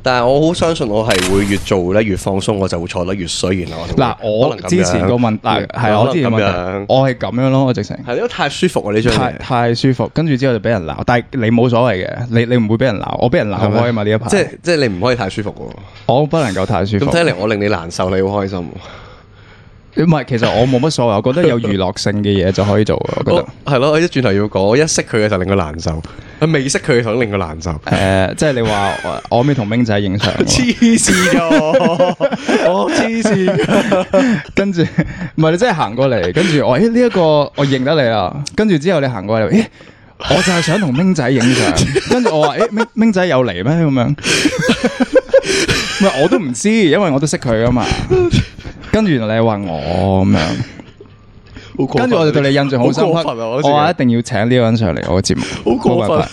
但係我好相信我係會越做咧越放鬆，我就會錯得越衰。然後嗱，我之前個問題係我之前個問題，我係咁樣咯，我直情係因為太舒服啊呢張嘢， 太舒服，跟住之後就俾人鬧，但係你冇所謂嘅，你唔會俾人鬧，我俾人鬧開啊嘛呢一排， 即係你唔可以太舒服喎。 我不能夠太舒服。 咁睇嚟我令你難受，你好開心。 唔係，其實我冇乜所謂，我覺得有娛樂性嘅嘢就可以做。我覺得係咯，我一轉頭要講，我一識佢嘅時候令佢難受，我未識佢嘅時候令佢難受。 即係你話我未同明仔影相， 黐線㗎，我黐線。 跟住唔係你真係行過嚟，跟住我呢一個我認得你啦。跟住之後你行過嚟，我就係想同明仔影相。跟住我話明仔有嚟咩咁樣？唔係我都唔知，因為我都識佢噶嘛。跟住原來你話我咁樣，跟住我就對你印象好深刻。我話一定要請呢個人上嚟我嘅節目， 好過分。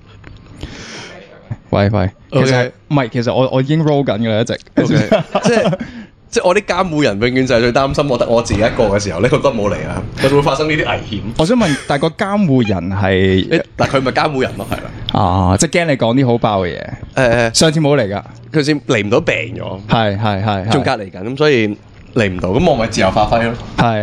喂，其實我已經 roll 緊㗎啦，一直。 即係我啲監護人永遠就係最擔心我得我自己一個嘅時候咧，佢都冇嚟啊，就會發生呢啲危險。 我想問，但係個監護人係嗱，佢咪監護人咯，係啦。 啊，即係驚你講啲好爆嘅嘢。上次冇嚟㗎， 佢先嚟唔到病咗， 係， 仲隔離緊，咁所以嚟唔到，咁我咪自由發揮咯。 係。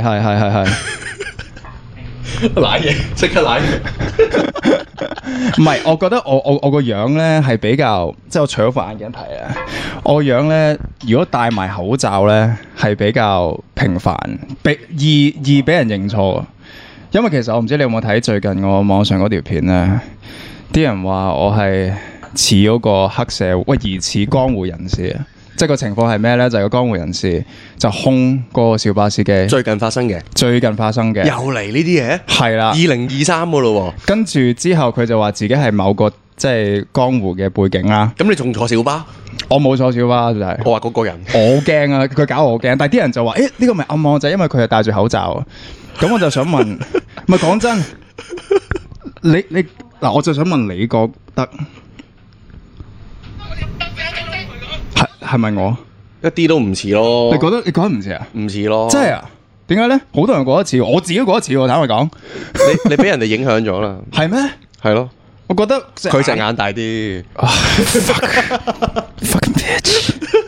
瀨嘢，即刻瀨嘢。 唔係，我覺得我個樣咧係比較，即係我除咗副眼鏡睇啊，我個樣咧如果戴埋口罩咧係比較平凡，易俾人認錯。因為其實我唔知你有冇睇最近我網上嗰條片咧，啲人話我係似嗰個黑社會，疑似江湖人士啊。即係個情況係咩咧？就係個江湖人士就兇嗰個小巴司機。最近發生嘅。又嚟呢啲嘢？係啦。2023噶咯喎。跟住之後佢就話自己係某個即係江湖嘅背景啦。咁你仲坐小巴？我冇坐小巴就係。我話嗰個人。我好驚啊！佢搞我好驚。但係啲人就話：呢個咪暗網就係因為佢係戴住口罩。咁我就想問，唔係講真，你嗱，我就想問你覺得？係咪我？一啲都唔似咯。你覺得唔似啊？唔似咯。真係啊？點解咧？好多人覺得似，我自己覺得似喎。坦白講，你俾人哋影響咗啦。係咩？係咯。我覺得佢隻眼大啲。Fucking bitch！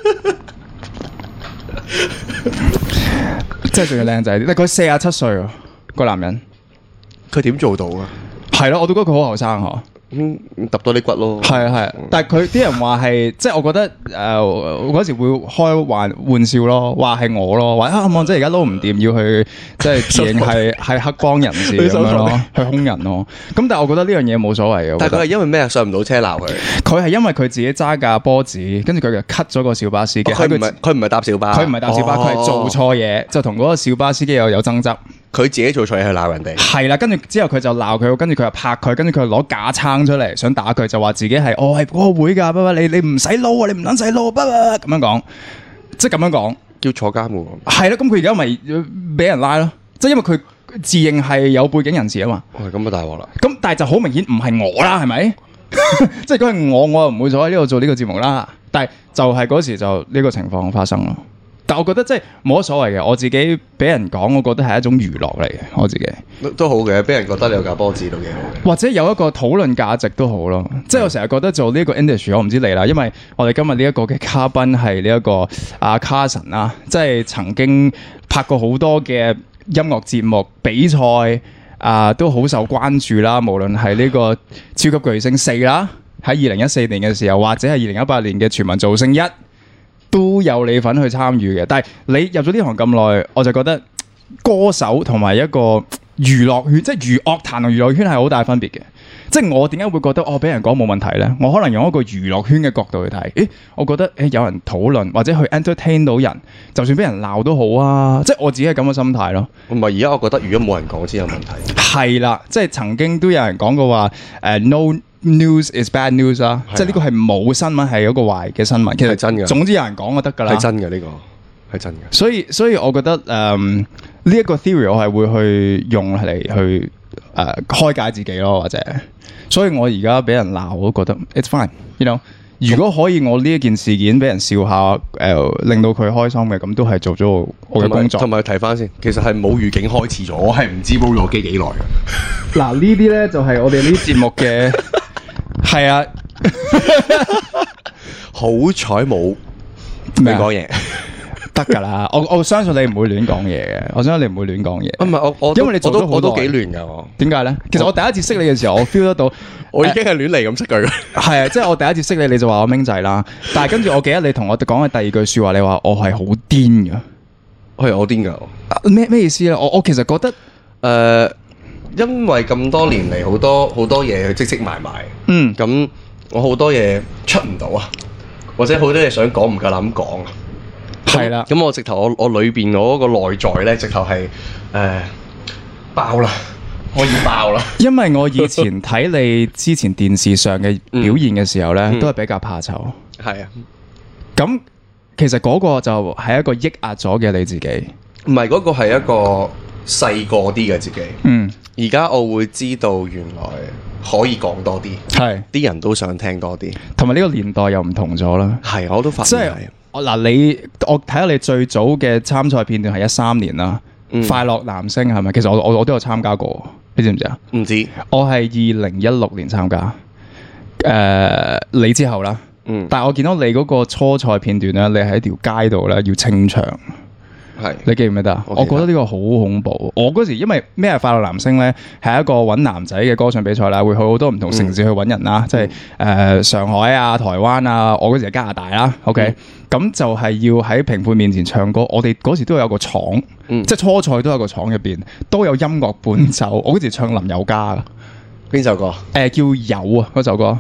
即係仲要靚仔啲，但佢47歲喎，個男人。佢點做到啊？係咯，我都覺得佢好後生嗬。揼多啲骨咯，係，但係佢啲人話係，即係我覺得嗰時會開玩笑咯，話係我咯，話即係而家撈唔掂，要去即係自認係黑幫人士咁樣咯，去兇人咯。咁但係我覺得呢樣嘢冇所謂嘅。但係佢係因為咩上唔到車鬧佢？佢係因為佢自己揸架波子，跟住佢就 cut 咗個小巴司機。佢唔係搭小巴，佢係做錯嘢，就同嗰個小巴司機有爭執。佢自己做錯嘢去鬧人哋，係啦，跟住之後佢就鬧佢，跟住佢又拍佢，跟住佢又攞架撐出嚟想打佢，就話自己係我係嗰個會㗎，你唔使撈啊，你唔撚使撈，咁樣講，即係咁樣講，叫坐監喎。係啦，咁佢而家咪俾人拉咯，即係因為佢自認係有背景人士啊嘛。咁啊大鑊啦！咁但係就好明顯唔係我啦，係咪？即係如果係我又唔會坐喺呢度做呢個節目啦。但係就係嗰時就呢個情況發生咯。但我覺得即係冇乜所謂嘅，我自己俾人講，我覺得係一種娛樂嚟嘅，我自己都好嘅，俾人覺得你有架波子都幾好，或者有一個討論價值都好咯。即係我成日覺得做呢個 industry， 我唔知你啦，因為我哋今日呢一個嘅嘉賓係呢一個阿 Carson 啦，即係曾經拍過好多嘅音樂節目比賽都好受關注啦。無論係呢個超級巨星4啦，喺2014年嘅時候，或者係2018年嘅全民造星1。都有你份去參與嘅，但係你入咗呢行咁耐，我就覺得歌手同埋一個娛樂圈，即係樂壇同娛樂圈係好大分別嘅。即係我點解會覺得俾人講冇問題呢？我可能用一個娛樂圈嘅角度去睇，我覺得有人討論或者去 entertain 到人，就算俾人鬧都好啊！即係我自己係咁嘅心態咯。唔係而家我覺得如果冇人講先有問題。係啦，即係曾經都有人講過話no news is bad news 啦，即係呢個係冇新聞係一個壞嘅新聞，其實係真嘅。總之有人講就得㗎啦，係真嘅呢個係真嘅。所以我覺得呢一個 theory 我係會去用嚟去開解自己咯，或者所以我而家俾人鬧我都覺得 it's fine，you know。如果可以我呢一件事件俾人笑下，令到佢開心嘅，咁都係做咗我嘅工作。同埋提翻先，其實係冇預警開始咗，我係唔知煲咗機幾耐嘅。嗱呢啲咧就係我哋呢啲節目嘅。係啊， 好彩冇亂講嘢。 得㗎啦，我相信你唔會亂講嘢嘅，我相信你唔會亂講嘢。 唔係我， 因為你做咗好多我都幾亂㗎我。 點解咧？其實我第一次識你嘅時候，我 feel 得到， 我已經係亂嚟咁識佢。 係啊，即係我第一次識你，你就話我明仔啦。但係跟住我記得你同我講嘅第二句説話，你話我係好癲㗎。 係我癲㗎。 咩意思咧？我其實覺得因為咁多年嚟好多嘢去積積埋埋，咁我好多嘢出唔到啊，或者好多嘢想講唔夠膽講啊。係啦，咁我直頭我裏邊嗰個內在咧，直頭係爆啦，可以爆啦。因為我以前睇你之前電視上嘅表現嘅時候咧，都係比較怕醜。係啊，咁其實嗰個就係一個抑壓咗嘅你自己，唔係嗰個係一個細個啲嘅自己。而家我會知道原來可以講多啲，係啲人都想聽多啲，同埋呢個年代又唔同咗啦。係，我都發現係。我睇下你最早嘅參賽片段係13年啦，快樂男聲係咪？其實我都有參加過，你知唔知啊？唔知。我係2016年參加，你之後啦。但係我見到你嗰個初賽片段咧，你喺條街度咧要清場。係，你記唔記得啊？我覺得呢個好恐怖。我嗰時因為咩係快樂男聲咧，係一個揾男仔嘅歌唱比賽啦，會去好多唔同城市去揾人啦，即係上海啊、台灣啊，我嗰時係加拿大啦。OK，咁就係要喺評判面前唱歌。我哋嗰時都有個廠，即係初賽都有個廠入邊都有音樂伴奏。我嗰時唱林宥嘉嘅邊首歌？叫有啊嗰首歌。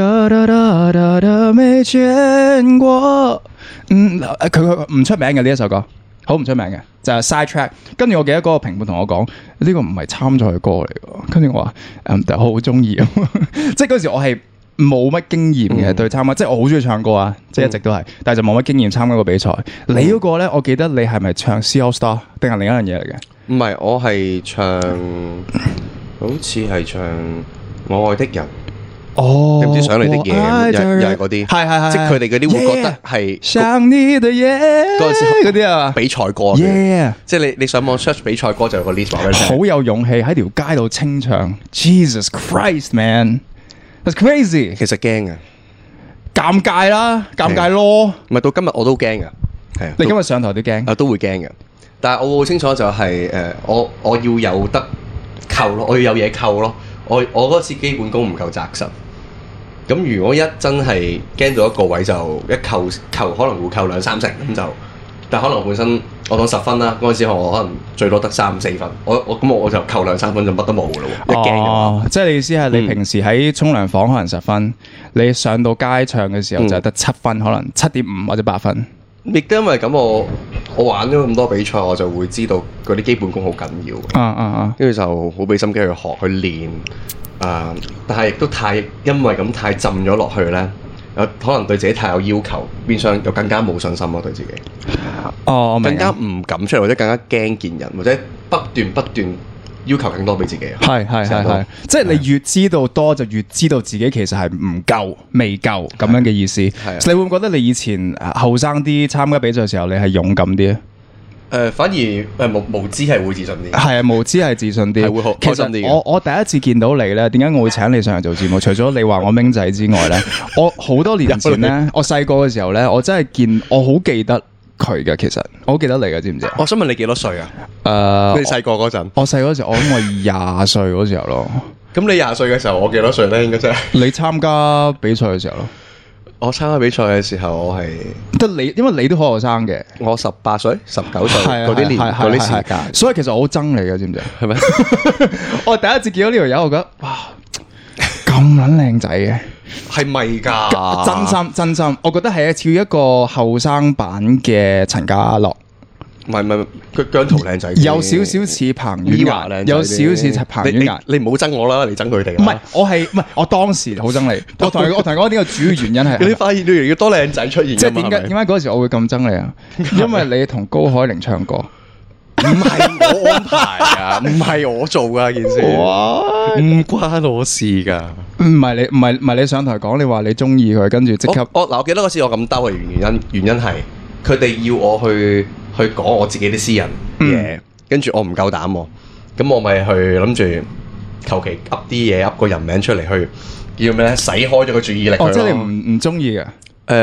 未見過，佢唔出名嘅呢一首歌。好唔出名嘅就係 side track， 跟住我記得嗰個評判同我講呢個唔係參賽嘅歌嚟嘅，跟住我話我好中意，即係嗰時我係冇乜經驗嘅對參加，即係我好中意唱歌啊，即係一直都係，但係就冇乜經驗參加個比賽。你嗰個咧，我記得你係咪唱 C AllStar 定係另一樣嘢嚟嘅？唔係，我係唱，好似係唱我愛的人。哦，你唔知想你的嘢，又係嗰啲，係，即係佢哋嗰啲會覺得係想你的嘢嗰陣時嗰啲啊，比賽歌，即係你上網 search 比賽歌就有個 list 話俾你聽，好有勇氣喺條街度清唱 ，Jesus Christ man，that's crazy，其實驚嘅，尷尬啦，尷尬咯，唔係到今日我都驚嘅，係你今日上台都驚，啊都會驚嘅，但係我好清楚就係我要有得扣咯，我要有嘢扣咯。我嗰次基本功唔夠紮實，咁如果一真係驚到一個位就一扣可能會扣2-3成咁就，但可能本身我當10分啦，嗰陣時我可能最多得3-4分，我就扣2-3分就乜都冇噶咯喎，一驚嘅話，即係你意思係你平時喺沖涼房可能10分，你上到街唱嘅時候就係得7分，可能7.5或者8分。亦都因為咁，我玩咗咁多比賽，我就會知道嗰啲基本功好緊要。跟住就好俾心機去學去練。但係亦都因為咁太浸咗落去咧，可能對自己太有要求，變相又更加冇信心咯，對自己。我明。更加唔敢出嚟，或者更加驚見人，或者不斷要求更多俾自己。係，即係你越知道多，就越知道自己其實係唔夠、未夠咁樣嘅意思。你會唔會覺得你以前後生啲參加比賽嘅時候，你係勇敢啲？反而無知係會自信啲。係啊，無知係自信啲，會好開心啲。其實我第一次見到你咧，點解我會請你上嚟做節目？除咗你話我明仔之外咧，我好多年前咧，我細個嘅時候咧，我真係我好記得佢嘅。其實我好記得你嘅，知唔知？我想問你幾多歲啊？你細個嗰陣？我細個嗰時，我諗我20歲嗰時候咯。咁你20歲嘅時候，我幾多歲咧？應該真係你參加比賽嘅時候咯。我參加比賽嘅時候，我係得你，因為你都好後生嘅。我18歲、19歲嗰啲年嗰啲時間，所以其實我好憎你嘅，知唔知？係咪？我第一次見到呢條友，我覺得哇，咁撚靚仔嘅，係咪㗎？真心，我覺得係似一個後生版嘅陳家樂。唔係，佢姜濤靚仔，有少少似彭于晏，有少少似彭于晏。你唔好憎我啦，你憎佢哋。唔係，我當時好憎你。我同你講呢個主要原因係，你發現越嚟越多靚仔出現。即係點解嗰時我會咁憎你啊？因為你同高海寧唱歌，唔係我安排啊，唔係我做噶件事，唔關我事噶。唔係你上台講，你話你中意佢，跟住即刻。我記得嗰次我咁兜嘅原因係，佢哋要我去講我自己啲私人嘢，跟住我唔夠膽喎，咁我咪去諗住求其噏啲嘢，噏個人名出嚟去叫咩咧，洗開咗個注意力。即係你唔中意嘅？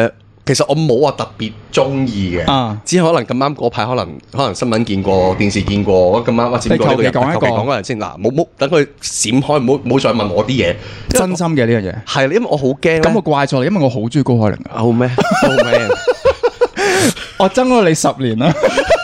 其實我冇話特別中意嘅，只係可能咁啱嗰排可能新聞見過，電視見過，咁啱剪過呢個人，求其講個人先嗱，冇等佢閃開，唔好再問我啲嘢， 真心嘅呢樣嘢係，因為我好驚。咁我怪錯你，因為我好中意高海寧啊。 好咩？好咩？ 我憎咗你10年啦。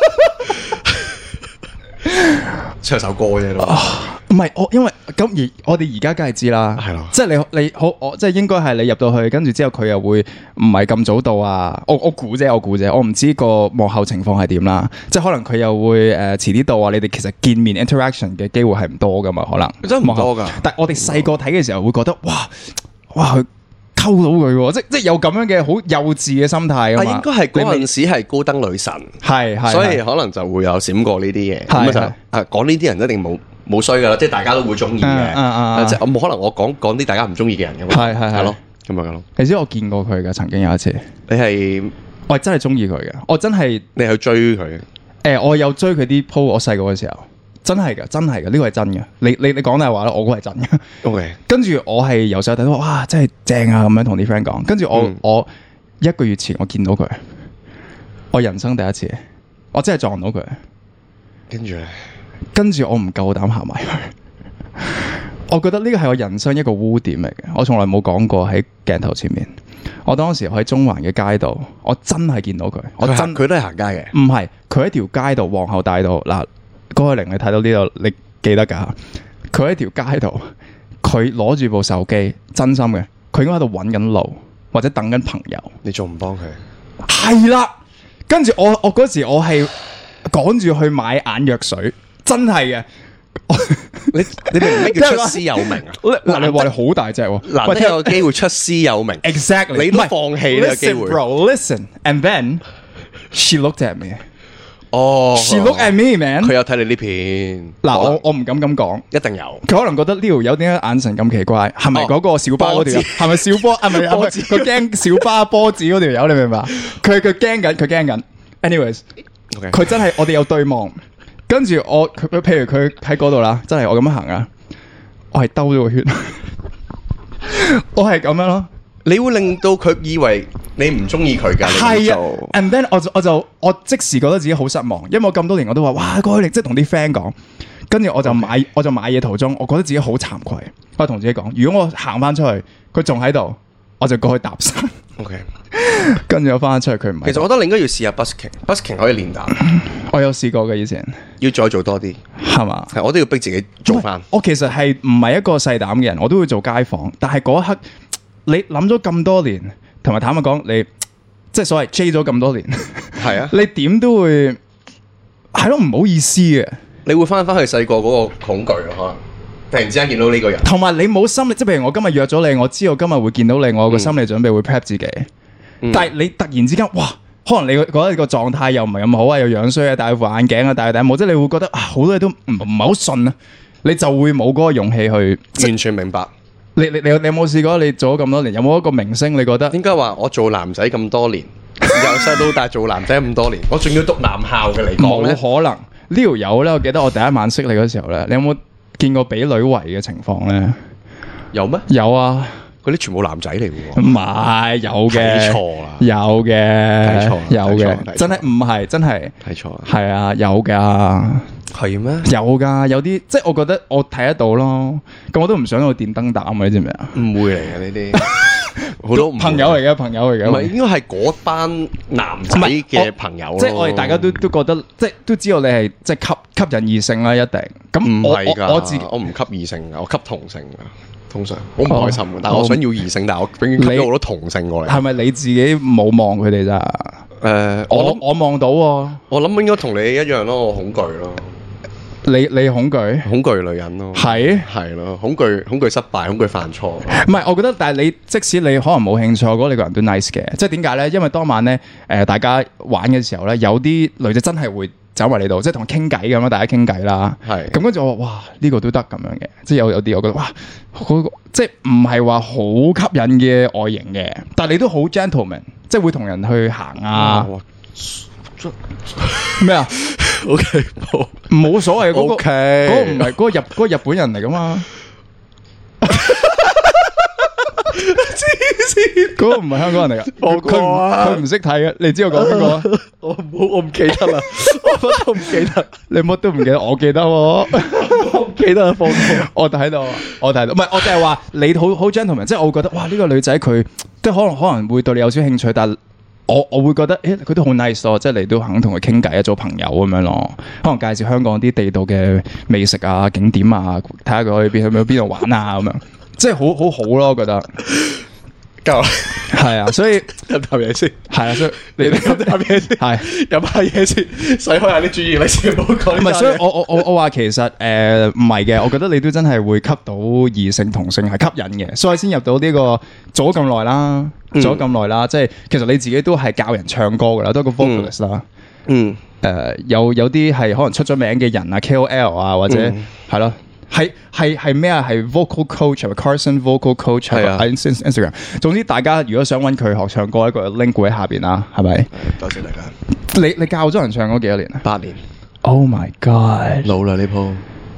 唱首歌啫咯。 唔係我，因為咁而我哋而家梗係知啦，係咯，即係你好，我即係應該係你入到去，跟住之後佢又會唔係咁早到啊。我估啫，我唔知個幕後情況係點啦。即係可能佢又會遲啲到啊。你哋其實見面 interaction 嘅機會係唔多噶嘛，可能真係唔多噶。 但係我哋細個睇嘅時候會覺得哇佢溝到佢喎，即係有咁樣嘅好幼稚嘅心態啊嘛。 應該係嗰陣時係高登女神，係，所以可能就會有閃過呢啲嘢。咁就講呢啲人一定冇衰噶啦，即係大家都會中意嘅。即係我冇可能我講啲大家唔中意嘅人噶嘛。係咯，咁樣咯。 你知我見過佢嘅，曾經有一次。我係真係中意佢嘅，我真係你係去追佢？ 我有追佢啲 po， 我細個嘅時候。真係嘅，呢個係真嘅。你講大話啦，我估係真嘅。 OK。 跟住我係由細睇到，哇，真係正啊！咁樣同啲 friend 講。跟住我1個月前我見到佢，我人生第一次，我真係撞到佢。跟住我唔夠膽行埋去。我覺得呢個係我人生一個污點嚟嘅。我從來冇講過喺鏡頭前面。我當時喺中環嘅街度，我真係見到佢。 佢都係行街嘅。 唔係，佢喺條街度，皇后大道嗱。高海寧，你睇到呢度，你記得㗎？佢喺條街度，佢攞住部手機，真心嘅，佢應該喺度揾緊路或者等緊朋友。 你仲唔幫佢？ 係啦，跟住我嗰時我係趕住去買眼藥水，真係嘅。 你明唔明咩叫出師有名啊？ 嗱，你話你好大隻喎， 嗱，你有個機會出師有名 ，exactly， 你都放棄呢個機會。 Bro，listen，and then she looked at me。She look at me, man。 佢有睇你呢片嗱，我唔敢咁講， 一定有。 佢可能覺得呢條友點解眼神咁奇怪？係咪嗰個小巴嗰條？係咪小波？係咪佢驚小巴波子嗰條友？你明白？佢驚緊。Anyways，佢真係我哋有對望，跟住佢譬如佢喺嗰度啦，真係我咁樣行啊，我係兜咗個圈，我係咁樣咯。 你會令到佢以為你唔中意佢㗎， 係啊。And then 我即時覺得自己好失望，因為我咁多年我都話哇高海寧，即係同啲 friend 講，跟住我就買嘢途中，我覺得自己好慚愧。我同自己講，如果我行翻出去，佢仲喺度，我就過去搭訕。 OK， 跟住我翻出去，佢唔係。 其實我覺得你應該要試下 busking 可以練打。 我有試過嘅以前， 要再做多啲， 係嘛？ 係我都要逼自己做翻。 我其實係唔係一個細膽嘅人，我都會做街訪，但係嗰一刻。你諗咗咁多年，同埋坦白講，你即係所謂 J 咗咁多年，係啊，你點都會係咯，唔好意思嘅。 你會翻去細個嗰個恐懼咯，可能突然之間見到呢個人， 同埋你冇心理，即係譬如我今日約咗你，我知道今日會見到你，我個心理準備會 prep 自己。但係你突然之間，哇，可能你覺得你個狀態又唔係咁好啊，又樣衰啊，戴副眼鏡啊，戴頂帽，即係你會覺得啊，好多嘢都唔係好順啊，你就會冇嗰個勇氣去完全明白。 你有冇試過？你做咗咁多年，有冇一個明星？你覺得？ 應該話我做男仔咁多年，由細到大做男仔咁多年，我仲要讀男校嘅嚟講咧， 冇可能。呢條友咧，我記得我第一晚識你嗰時候咧，你有冇見過俾女圍嘅情況咧？ 有咩？ 有啊， 嗰啲全部男仔嚟嘅喎。 唔係，有嘅。睇錯啦。有嘅。睇錯。有嘅。真係唔係，真係。睇錯。係啊，有㗎。 係咩？ 有㗎，有啲即係我覺得我睇得到咯。咁我都唔想去電燈膽，你知唔知啊？ 誤會嚟嘅呢啲。好多朋友嚟嘅，朋友嚟嘅。 唔係應該係嗰班男仔嘅朋友咯。 即係我哋大家都覺得，即係都知道你係即係吸引異性啦，一定。咁唔係㗎， 我自己我唔吸異性㗎，我吸同性㗎。通常好唔開心嘅，但係我想要異性，但係我永遠吸到好多同性過嚟。係咪你自己冇望佢哋咋？我望到喎。我諗應該同你一樣咯，我恐懼咯。 你恐懼？ 恐懼女人咯。係咯，恐懼失敗，恐懼犯錯。 唔係，我覺得，但係你即使你可能冇興趣，我覺得你個人都 nice 嘅。即係點解咧？因為當晚咧，大家玩嘅時候咧，有啲女仔真係會走埋嚟度，即係同我傾偈咁樣，大家傾偈啦。係。咁跟住我話：哇，呢個都得咁樣嘅。即係有啲我覺得哇，即係唔係話好吸引嘅外形嘅，但係你都好 gentleman， 即係會同人去行啊。咩啊？OK，冇所謂嗰個，嗰個唔係嗰個日本人嚟噶嘛？ 嗰個唔係香港人嚟噶，佢唔識睇嘅，你知我講邊個啊？ 我唔記得啦，我乜都唔記得， 你乜都唔記得，我記得喎， 我唔記得放我睇到，唔係我就係話你好 gentleman， 即係我會覺得哇呢個女仔佢即係可能會對你有少興趣，但係我會覺得佢都好 nice 咯，即係你都肯同佢傾偈做朋友咁樣咯，可能介紹香港啲地道嘅美食啊景點啊，睇下佢可以去邊度玩啊咁樣，即係好咯，我覺得。 夠係啊，所以飲啖嘢先。 係啊，所以你飲啖嘢先。係飲下嘢先，洗開下啲注意力先，唔好講。 唔係，所以我話其實唔係嘅，我覺得你都真係會吸到異性同性係吸引嘅，所以先入到呢個做咗咁耐啦，即係其實你自己都係教人唱歌噶啦，都係個 vocalist 啦。有啲係可能出咗名嘅人啊 KOL 啊，或者係咯。係咩啊？係 vocal coach，Carson vocal coach 係啊 ，Instagram。總之大家如果想揾佢學唱歌，一個 link 會喺下邊啦，係咪？ 多謝大家。 你教咗人唱歌幾多年啊 ？8年。 Oh my god！ 老啦呢鋪。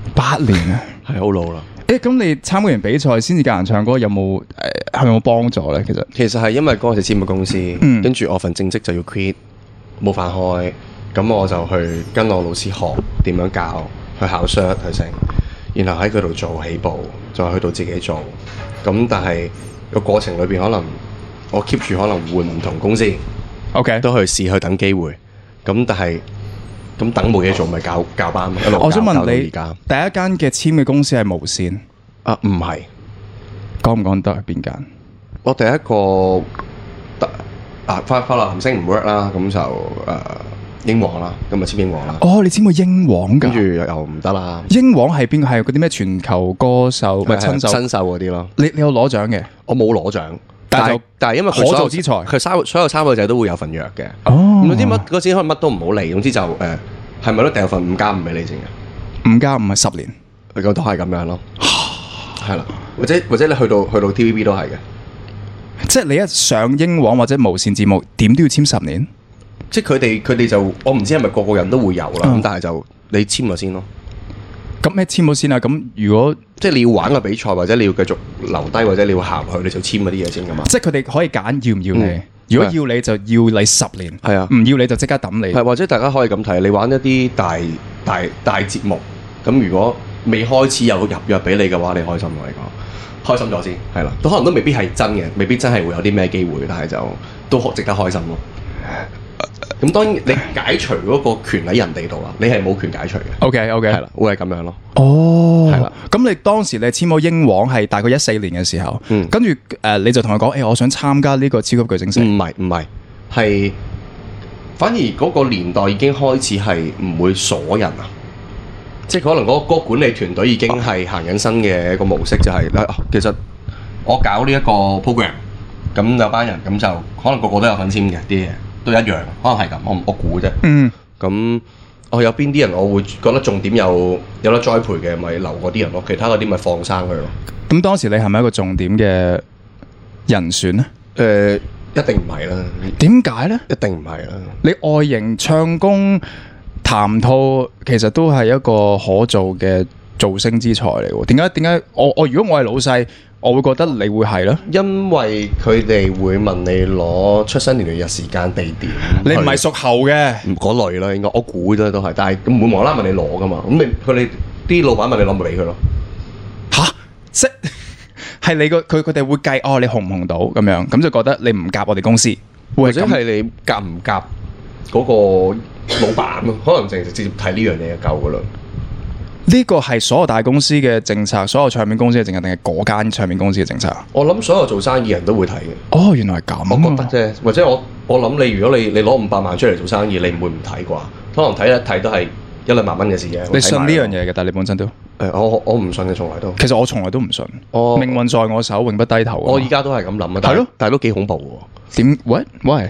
8年啊， 係好老啦。 咁你參加完比賽先至教人唱歌，有冇係咪有冇幫助咧？ 其實係因為嗰陣時簽咗公司，跟住我份正職就要 quit，冇飯開，咁我就去跟我老師學點樣教，去考 cert 去成。然後喺佢度做起步，再去到自己做。咁但係個過程裏邊，可能我 keep 住可能換唔同公司 ，OK， 都去試去等機會。咁但係咁等冇嘢做，咪教班一路教。 我想問你， 第一間嘅簽嘅公司係無線啊？唔係， 講唔講得係邊間？ 我第一個快樂行星唔 work 啦，咁就英皇啦，咁咪簽英皇啦。 哦，你簽過英皇㗎？ 跟住又唔得啦。 英皇係邊個？係嗰啲咩全球歌手？唔係新秀嗰啲咯。 你有攞獎嘅？ 我冇攞獎，但係因為可造之才， 佢所有參賽者都會有份約嘅。 哦， 唔知乜嗰時可能乜都唔好理，總之就係咪都掉份5+5俾你先嘅 ？5+5係10年， 咁都係咁樣咯。係啦，或者你去到 TVB 都係嘅。 即係你一上英皇或者無線節目，點都要簽10年。 即係佢哋就我唔知係咪個個人都會有啦，咁但係就你簽咗先咯。 咁咩簽咗先啊？咁如果即係你要玩個比賽，或者你要繼續留低，或者你要行去，你就簽嗰啲嘢先噶嘛。 即係佢哋可以揀要唔要你。如果要你就要你10年， 係啊， 唔要你就即刻抌你。 係或者大家可以咁睇，你玩一啲大節目，咁如果未開始有入約俾你嘅話，你開心我嚟講，開心咗先係啦。都可能都未必係真嘅，未必真係會有啲咩機會，但係就都值得開心咯。咁當然你解除嗰個權喺人哋度啦，你係冇權解除嘅。OK， 係啦，會係咁樣咯。 哦，係啦。咁你當時你簽咗英皇係大概14年嘅時候，跟住你就同佢講，我想參加呢個超級巨星賽。唔係，係反而嗰個年代已經開始係唔會鎖人啊，即係可能嗰個管理團隊已經係行緊新嘅一個模式，就係其實我搞呢一個 program， 咁有班人咁就可能個個都有份簽嘅啲嘢。都一樣，可能係咁，我估啫。咁有邊啲人我會覺得重點有得栽培嘅，咪留嗰啲人咯。其他嗰啲咪放生佢咯。 咁當時你係咪一個重點嘅人選咧？ 一定唔係啦。 點解咧？ 一定唔係啦。 你外形、唱功、談吐，其實都係一個可做嘅造星之才嚟喎。點解？如果我係老細，我會覺得你會係咯， 因為佢哋會問你攞出生年月日時間地點， 你唔係屬猴嘅嗰類啦，應該我估啫都係，但係唔會無啦啦問你攞噶嘛，咁佢哋啲老闆問你攞咪俾佢咯。 吓，即係你佢哋會計你紅唔紅到咁樣，咁就覺得你唔夾我哋公司， 或者係你夾唔夾嗰個老闆咯，可能直接睇呢樣嘢就夠噶啦。 呢個係所有大公司嘅政策，所有唱片公司嘅政策，定係嗰間唱片公司嘅政策？ 我諗所有做生意人都會睇嘅。 哦，原來係咁。 我覺得啫，或者我諗你，如果你攞500萬出嚟做生意，你唔會唔睇啩？可能睇一睇都係1-2萬蚊嘅事嘅。 你信呢樣嘢嘅？但係你本身都我唔信嘅，從來都。 其實我從來都唔信。命運在我手，永不低頭。 我依家都係咁諗啊。係咯，但係都幾恐怖喎。 點？Why？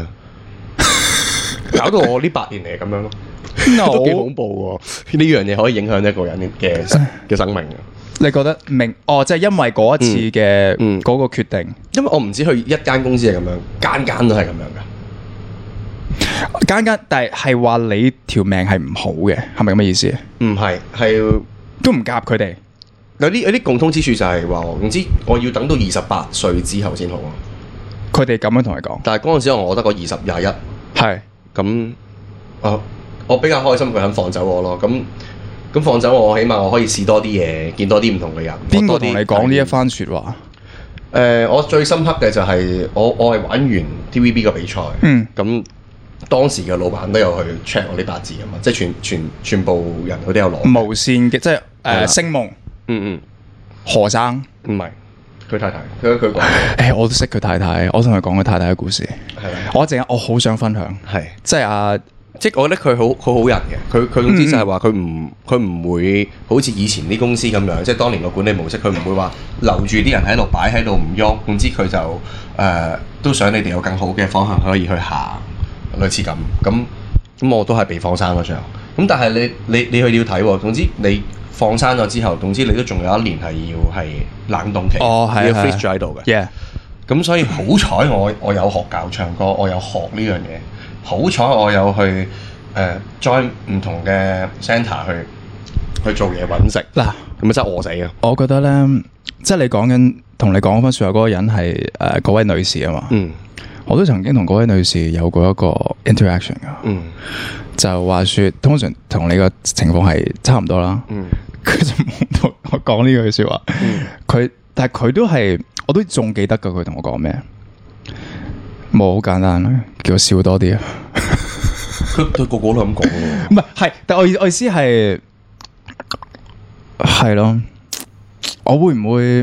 搞到我呢8年嚟咁樣咯。 No. 都幾恐怖喎！呢樣嘢可以影響一個人嘅生命。 你覺得即係因為嗰一次嘅嗰個決定， 因為我唔知去一間公司係咁樣，間都係咁樣㗎。 間，但係話你條命係唔好嘅，係咪咁嘅意思？ 唔係，係都唔夾佢哋。 有啲共通之處就係話，總之我要等到28歲之後先好啊。 佢哋咁樣同你講， 但係嗰陣時我得個20、21， 係咁我比較開心佢肯放走我咯。咁放走我，起碼我可以試多啲嘢，見多啲唔同嘅人。 邊個同你講呢一番説話？ 我最深刻嘅就係我係玩完 TVB 嘅比賽，咁當時嘅老闆都有去 check 我啲八字㗎嘛，即係全部人佢都有攞無線嘅，即係星夢，何生唔係佢太太，佢講我都識佢太太，我同佢講佢太太嘅故事，我好想分享，即係即係我覺得佢好人嘅，佢總之就係話佢唔會好似以前啲公司咁樣，即係當年個管理模式，佢唔會話留住啲人喺度擺喺度唔喐，總之佢就都想你哋有更好嘅方向可以去行，類似咁我都係被放生嗰張，咁但係你去要睇喎，總之你放生咗之後，總之你都仲有1年係要係冷凍期，要 freeze 咗喺度嘅，咁所以好彩我有學教唱歌，我有學呢樣嘢。好彩我有去join 唔同嘅 centre 去做嘢揾食嗱，咁咪真係餓死啊！ 我覺得咧，即係你講緊同你講翻説話嗰個人係嗰位女士啊嘛，我都曾經同嗰位女士有過一個 interaction 噶，就話説通常同你個情況係差唔多啦，佢就冇同我講呢句説話，但係佢都係我都仲記得噶，佢同我講咩？冇好簡單啦，叫我笑多啲啊！ 佢個個都咁講喎， 唔係，但我意思係咯，我會唔會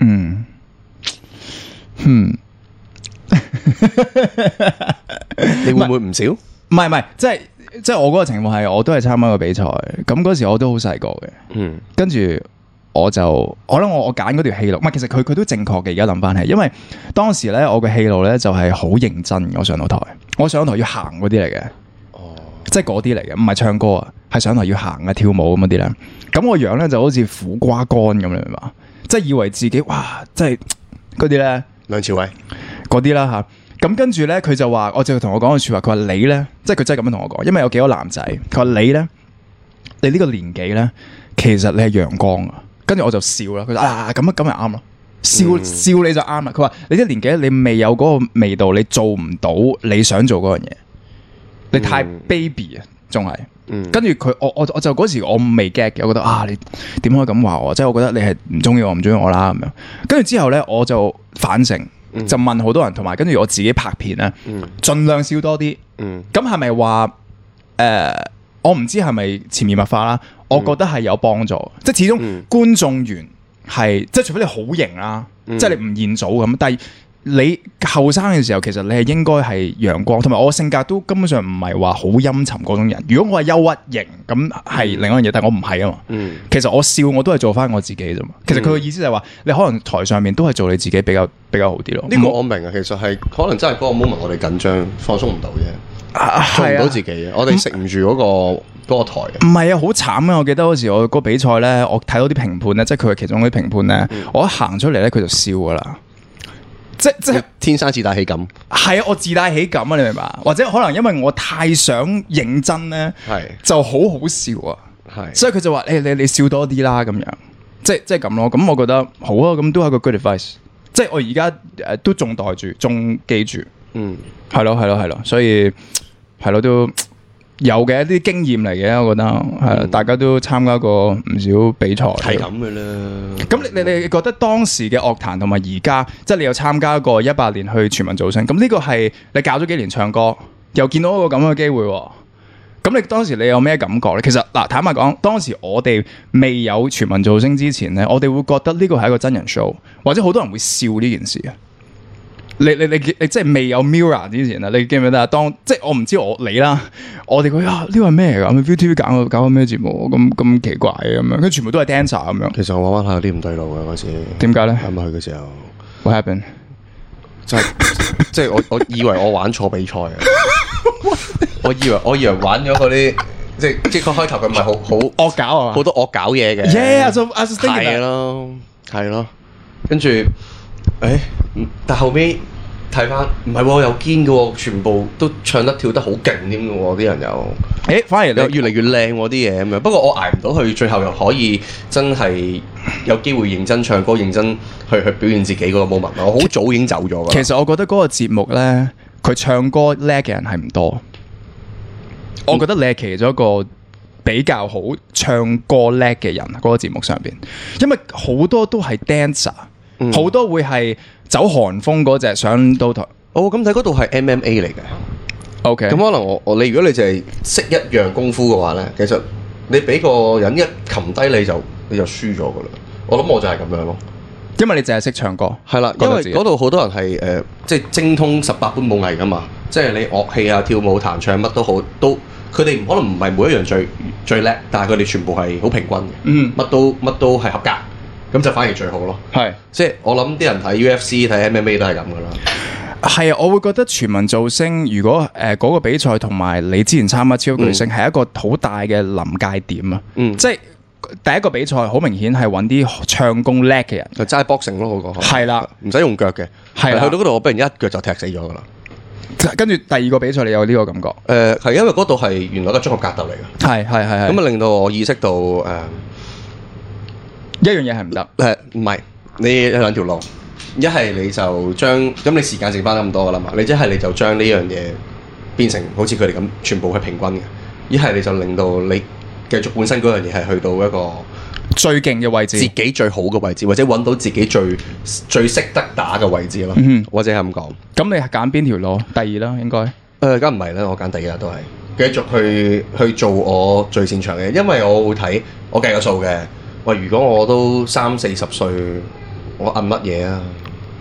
你會唔會唔少？ 唔係，即係我嗰個情況係，我都係參加個比賽，咁嗰時我都好細個嘅，跟住。我諗我揀嗰條戲路，唔係，其實佢都正確嘅。而家諗翻起，因為當時咧我嘅戲路咧就係好認真。我上到台要行嗰啲嚟嘅，即係嗰啲嚟嘅，唔係唱歌啊，係上台要行啊跳舞咁嗰啲咧。咁我樣咧就好似苦瓜乾咁，你明嘛？即係以為自己哇，即係嗰啲咧梁朝偉嗰啲啦吓。咁跟住咧佢就話，我就同我講句說話，佢話你咧，即係佢真係咁樣同我講，因為有幾個男仔，佢話你咧，你呢個年紀咧，其實你係陽光啊。跟住我就笑啦，佢話咁咪啱咯，笑你就啱啦。佢話你啲年紀你未有嗰個味道，你做唔到你想做嗰樣嘢，你太 baby 啊，仲係。跟住佢我就嗰時我未 get 嘅，我覺得你點可以咁話我？即係我覺得你係唔中意我唔中意我啦咁樣。跟住之後咧，我就反省，就問好多人，同埋跟住我自己拍片咧，盡量笑多啲。咁係咪話我唔知係咪潛移默化啦？我覺得係有幫助，即係始終觀眾緣係，即係除非你好型啦，即係你吳彥祖咁，但係你後生嘅時候，其實你係應該係陽光，同埋我性格都根本上唔係話好陰沉嗰種人。如果我係憂鬱型，咁係另一樣嘢，但係我唔係啊嘛。其實我笑我都係做翻我自己啫嘛。其實佢嘅意思就係話，你可能台上面都係做你自己比較好啲咯。 呢個我明啊，其實係可能真係嗰個 moment 我哋緊張放鬆唔到啫，做唔到自己，我哋食唔住嗰個台。 唔係啊，好慘啊！我記得嗰時我個比賽咧，我睇到啲評判咧，即係佢係其中嗰啲評判咧，我一行出嚟咧，佢就笑噶啦。即係天生自帶喜感。係啊，我自帶喜感啊，你明白？或者可能因為我太想認真咧，就好笑啊。所以佢就話你笑多啲啦，咁樣，即係咁咯。咁我覺得好啊，咁都係個 good advice。即係我而家都仲袋住，仲記住。係咯，所以係咯都。有嘅一啲經驗嚟嘅，我覺得係大家都參加過唔少比賽， 係咁嘅啦。 咁你覺得當時嘅樂壇同埋而家，即係你有參加過18年去全民造星，咁呢個係你教咗幾年唱歌，又見到一個咁嘅機會，咁你當時你有咩感覺咧？其實嗱，坦白講，當時我哋未有全民造星之前咧，我哋會覺得呢個係一個真人 show，或者好多人會笑呢件事啊。你即係未有 Mirror 之前啊，你記唔記得啊？即係我唔知你啦，我哋覺得呢個係咩嚟㗎？ViuTV 搞緊咩節目咁奇怪嘅咁樣，佢全部都係 dancer 咁樣。其實我玩下有啲唔對路嘅嗰時。 點解咧？ 啱啱去嘅時候。 What happened？ 即係我以為我玩錯比賽啊！我以為玩咗嗰啲即係個開頭佢唔係好惡搞啊， 好多惡搞嘢嘅。 Yeah，so I was thinking 係咯，跟住。但後尾睇翻唔係喎，又堅嘅喎，全部都唱得跳得好勁添嘅喎，啲人又反而你越嚟越靚喎啲嘢咁樣。不過我捱唔到去，最後又可以真係有機會認真唱歌、認真去表現自己嗰個 moment。我好早已經走咗㗎。 其實我覺得嗰個節目咧，佢唱歌叻嘅人係唔多。我覺得你係其中一個比較好唱歌叻嘅人嗰個節目上邊，因為好多都係 dancer，好多會係走韓風嗰隻上到台。 咁睇嗰度係 MMA 嚟嘅。 OK， 咁可能你如果你淨係識一樣功夫嘅話咧，其實你俾個人一擒低你就輸咗噶啦。我諗我就係咁樣咯， 因為你淨係識唱歌。 係啦，因為嗰度好多人係即係精通18般武藝噶嘛，即係你樂器啊、跳舞、彈唱乜都好，佢哋可能唔係每一樣最叻，但係佢哋全部係好平均嘅。乜都係合格，咁就反而最好咯。係，即係我諗啲人睇 UFC 睇 MMA 都係咁噶啦。 係啊，我會覺得全民造星如果嗰個比賽同埋你之前參加超級巨星係一個好大嘅臨界點啊。即係第一個比賽好明顯係揾啲唱功叻嘅人， 就齋 boxing 咯，嗰個係啦， 唔使用腳嘅。係去到嗰度我俾人一腳就踢死咗噶啦。 跟住第二個比賽你有呢個感覺？ 係因為嗰度係原來個綜合格鬥嚟嘅。係，咁啊令到我意識到一樣嘢係唔得。 唔係你有兩條路。一係你就將咁你時間剩翻咁多噶啦嘛，你一係你就將呢樣嘢變成好似佢哋咁全部係平均嘅，一係你就令到你繼續本身嗰樣嘢係去到一個最勁嘅位置， 自己最好嘅位置，或者揾到自己最識得打嘅位置咯，或者係咁講。 咁你係揀邊條路？第二啦，應該。 梗唔係啦，我揀第二都係繼續去做我最擅長嘅，因為我會睇我計個數嘅。喂，如果我都30-40歲，我摁乜嘢啊？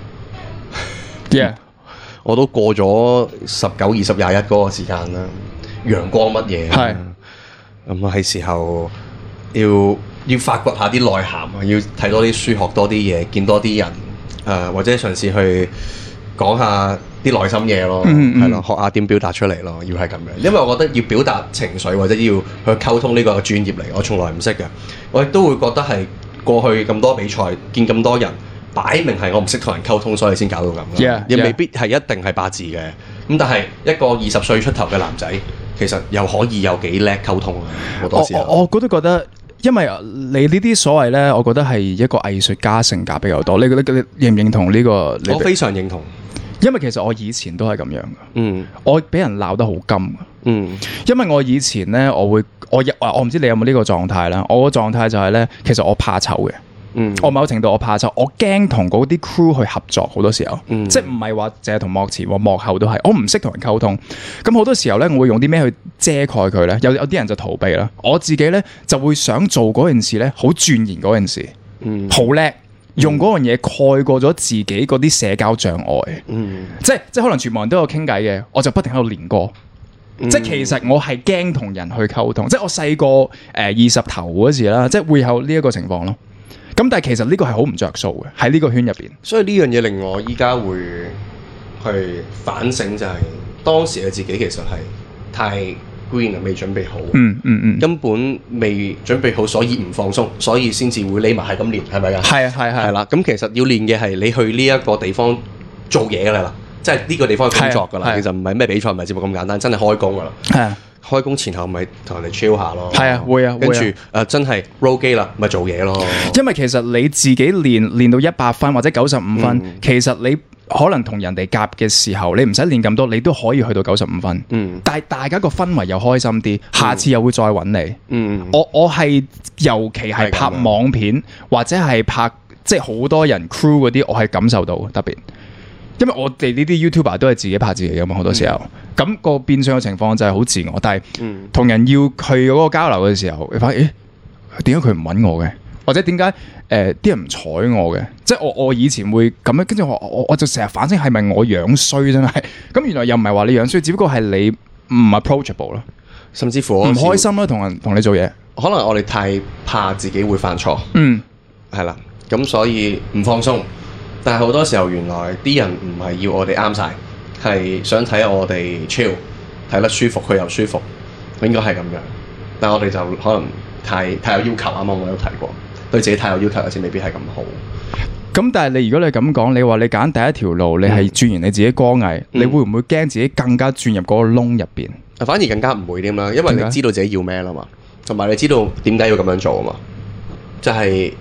我都過咗19、20、21嗰個時間啦，陽光乜嘢？係咁係時候要發掘下啲內涵啊，要睇多啲書，學多啲嘢，見多啲人，或者嘗試去講下啲內心嘢咯，係咯，學下點表達出嚟咯，要係咁樣。因為我覺得要表達情緒或者要去溝通呢個專業嚟，我從來唔識嘅。我亦都會覺得係過去咁多比賽，見咁多人。擺明係我唔識同人溝通，所以先搞到咁。亦未必係一定係八字嘅。咁但係一個20歲出頭嘅男仔，其實又可以有幾叻溝通啊！好多時候我覺得，因為你呢啲所謂咧，我覺得係一個藝術家性格比較多。你覺得你認唔認同呢個？ 我非常認同， 因為其實我以前都係咁樣嘅。我俾人鬧得好甘。因為我以前咧，我唔知你有冇呢個狀態啦。我個狀態就係咧，其實我怕醜嘅。我某程度我怕醜，我驚同嗰啲 crew 去合作，好多時候，即係唔係話淨係同幕前，幕後都係，我唔識同人溝通。咁好多時候咧，我會用啲咩去遮蓋佢咧？有啲人就逃避啦，我自己咧就會想做嗰件事咧，好鑽研嗰件事，好叻，用嗰樣嘢蓋過咗自己嗰啲社交障礙。即係可能全部人都有傾偈嘅，我就不停喺度練歌。即係其實我係驚同人去溝通，即係我細個20頭嗰時啦，即係會有呢一個情況咯。咁但係其實呢個係好唔着數嘅，喺呢個圈入邊。 所以呢樣嘢令我依家會去反省，就係當時嘅自己其實係太 green 啊，未準備好。根本未準備好，所以唔放鬆，所以先至會匿埋係咁練，係咪㗎？係啦。咁其實要練嘅係你去呢一個地方做嘢㗎啦，即係呢個地方嘅工作㗎啦。其實唔係咩比賽，唔係節目咁簡單，真係開工㗎啦。係啊。開工前後咪同人哋 chill 下咯， 係啊，會啊， 跟住真係 roll 機啦，咪做嘢咯。 因為其實你自己練到100分或者95分，其實你可能同人哋夾嘅時候，你唔使練咁多，你都可以去到95分。但係大家個氛圍又開心啲，下次又會再揾你。我係尤其係拍網片或者係拍即係好多人 crew 嗰啲，我係感受到特別。因為我哋呢啲 YouTuber 都係自己拍自己㗎嘛，好多時候，咁個變相嘅情況就係好自我，但係同人要去嗰個交流嘅時候，你發現點解佢唔揾我嘅，或者點解啲人唔睬我嘅？即係我以前會咁樣，跟住我就成日反省係咪我樣衰真係？咁原來又唔係話你樣衰，只不過係你唔 approachable 咯， 甚至乎唔開心咯，同你做嘢。 可能我哋太怕自己會犯錯，係啦，咁所以唔放鬆。但係好多時候，原來啲人唔係要我哋啱晒，係想睇我哋 chill，睇得舒服，佢又舒服，應該係咁樣。但係我哋就可能太有要求，啱啱我有提過，對自己太有要求，有時未必係咁好。 咁但係如果你咁講，你話你揀第一條路，你係鑽研你自己歌藝，你會唔會驚自己更加鑽入嗰個窿入邊？ 反而更加唔會添啦，因為你知道自己要咩啦嘛，同埋你知道點解要咁樣做啊嘛，就係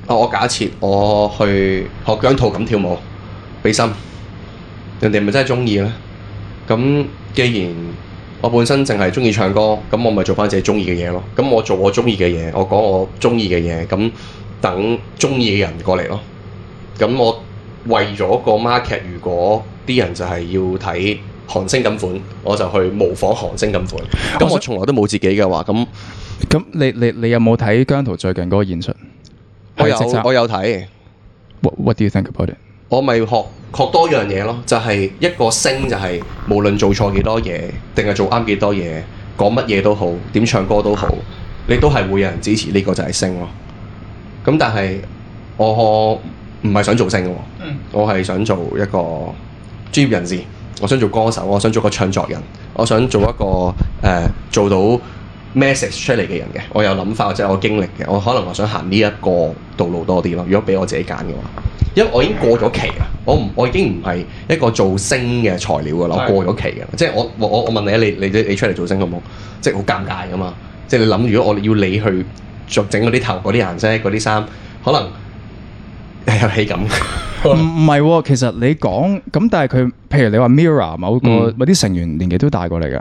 我假設我去學姜濤咁跳舞，俾心，人哋咪真係中意咧？咁既然我本身淨係中意唱歌，咁我咪做翻自己中意嘅嘢咯。咁我做我中意嘅嘢，我講我中意嘅嘢，咁等中意嘅人過嚟咯。咁我為咗個 market，如果啲人就係要睇韓星咁款，我就去模仿韓星咁款。咁我從來都冇自己嘅話，咁你有冇睇姜濤最近嗰個演出？ 我有睇。 What do you think about it？ 我咪學多樣嘢咯，就係一個星就係無論做錯幾多嘢，定係做啱幾多嘢，講乜嘢都好，點唱歌都好，你都係會有人支持，呢個就係星咯。咁但係我唔係想做星嘅，我係想做一個專業人士，我想做歌手，我想做個唱作人，我想做一個做到 message 出嚟嘅人嘅。我有諗法或者我經歷嘅，我可能我想行呢一個道路多啲咯。如果俾我自己揀嘅話，因為我已經過咗期啦，我已經唔係一個做星嘅材料噶啦，我過咗期嘅，即係我問你出嚟做星好冇？即係好尷尬噶嘛，即係你諗，如果我要你去整嗰啲頭、嗰啲顏色、嗰啲衫，可能有氣感。 唔係喎，其實你講咁，但係佢，譬如你話 Mirror 某啲成員年紀都大過你㗎。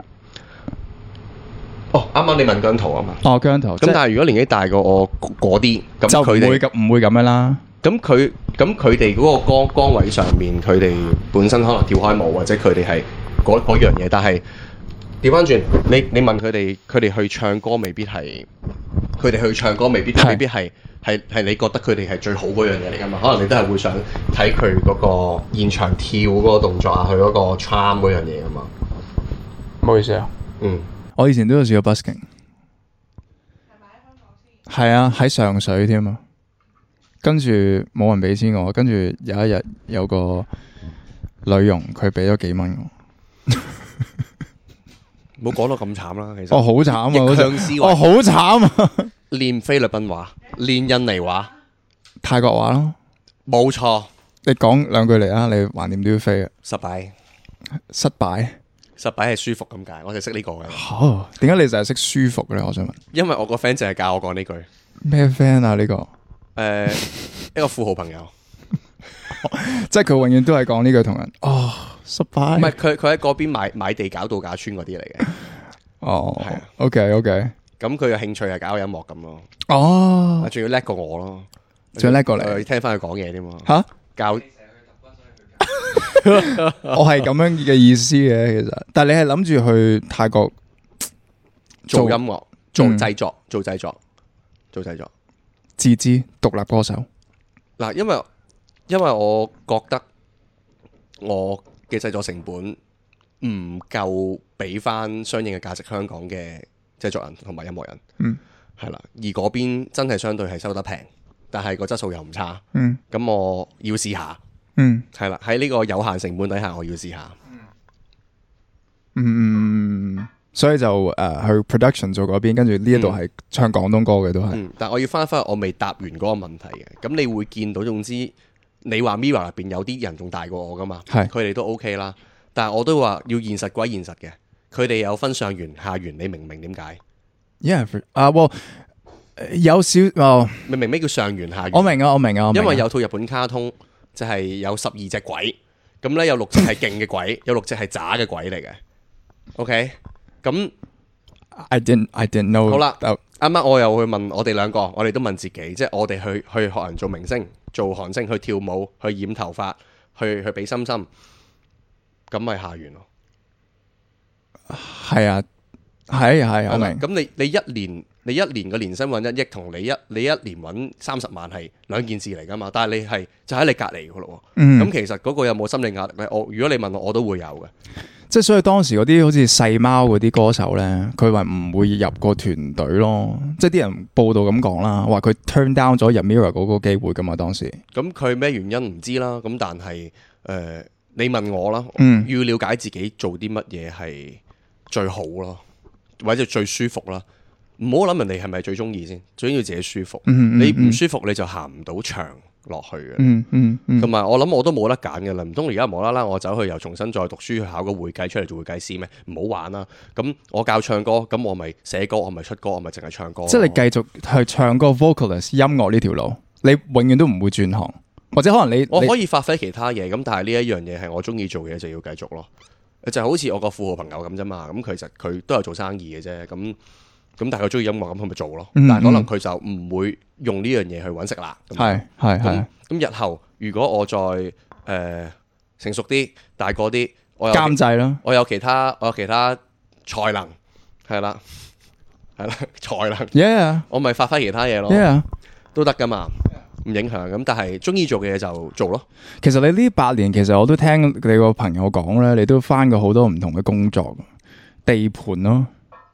哦，啱啱你問姜濤啊嘛。 哦，姜濤。 咁但係如果年紀大過我嗰啲，咁就唔會咁樣啦。 咁佢哋嗰個崗位上面，佢哋本身可能跳開舞，或者佢哋係嗰樣嘢，但係調翻轉，你問佢哋去唱歌，未必係佢哋去唱歌，未必係你覺得佢哋係最好嗰樣嘢嚟㗎嘛？可能你都係會想睇佢嗰個現場跳嗰個動作啊，佢嗰個 charm 嗰樣嘢㗎嘛。 唔好意思啊。我以前都有試過 busking。係啊，喺上水添啊。跟住冇人俾錢我，跟住有一日有個女傭佢俾咗幾蚊我。 冇講到咁慘啦，其實。 好慘啊！ 逆向思維。 好慘啊！ 練菲律賓話，練印尼話， 泰國話咯。 冇錯。 你講兩句嚟啊！你橫掂都要飛啊！ 失敗係舒服咁解，我就識呢個嘅。 點解你就係識舒服嘅咧？我想問。 因為我個 friend 淨係教我講呢句。 咩 friend 啊？呢個？ 一個富豪朋友， 即係佢永遠都係講呢句同人。失敗。 唔係佢喺嗰邊買地搞度假村嗰啲嚟嘅。 係啊。OK。 咁佢嘅興趣係搞音樂咁咯。仲要叻過我咯。 仲要叻過你。 聽翻佢講嘢添嘛。 吓？ 教。 我係咁樣嘅意思嘅，其實。但係你係諗住去泰國做音樂、做製作。 自資獨立歌手嗱，因為我覺得我嘅製作成本唔夠俾翻相應嘅價值香港嘅製作人同埋音樂人，係啦，而嗰邊真係相對係收得平，但係個質素又唔差，咁我要試下，係啦，喺呢個有限成本底下，我要試下， 所以就去 production 做嗰邊，跟住呢一度係唱廣東歌嘅都係。 但我要翻返去我未答完嗰個問題嘅。咁你會見到，總之你話 Mirror 入邊有啲人仲大過我噶嘛？係，佢哋都 OK 啦。但係我都話要現實歸現實嘅，佢哋有分上元下元，你明唔明點解？ 有少明唔明咩叫上元下元？ 我明啊。 因為有套日本卡通就係有12隻鬼，咁咧有6隻係勁嘅鬼，有6隻係渣嘅鬼嚟嘅。OK。咁 I didn't know。 好啦，啱啱我又去問我哋兩個，我哋都問自己，即係我哋去學人做明星、做韓星、去跳舞、去染頭髮、去俾心心，咁咪下元咯。 係啊，係我明。 咁你一年嘅年薪揾1億，同你一年揾30萬係兩件事嚟噶嘛？但係你係就喺你隔離噶咯。咁其實嗰個有冇心理壓力咧？如果你問我都會有嘅。 即係所以當時嗰啲好似細貓嗰啲歌手咧，佢話唔會入個團隊咯。即係啲人報道咁講啦，話佢 turn down 咗入 Mirror 嗰個機會噶嘛。當時咁佢咩原因唔知啦。咁但係你問我啦，要了解自己做啲乜嘢係最好咯，或者最舒服啦。唔好諗人哋係咪最中意先，最緊要自己舒服。你唔舒服你就行唔到長落去嘅。同埋我諗我都冇得揀嘅啦，唔通而家無啦啦我走去又重新再讀書去考個會計出嚟做會計師咩？唔好玩啦！咁我教唱歌，咁我咪寫歌，我咪出歌，我咪淨係唱歌。 即係你繼續去唱歌 vocalist 音樂呢條路。 你永遠都唔會轉行，或者可能我可以發揮其他嘢，咁但係呢一樣嘢係我中意做嘅嘢就要繼續咯。就好似我個富豪朋友咁啫嘛，咁其實佢都有做生意嘅啫，咁但係佢中意音樂，咁佢咪做咯。但係可能佢就唔會用呢樣嘢去揾食啦。 係。 咁日後如果我再成熟啲、大個啲，我有監製啦， 我有其他才能，係啦，才能。 Yeah， 我咪發揮其他嘢咯。 Yeah， 都得噶嘛。唔影響咁，但係中意做嘅嘢就做咯。 其實你呢8年，其實我都聽你個朋友講咧，你都翻過好多唔同嘅工作，地盤咯，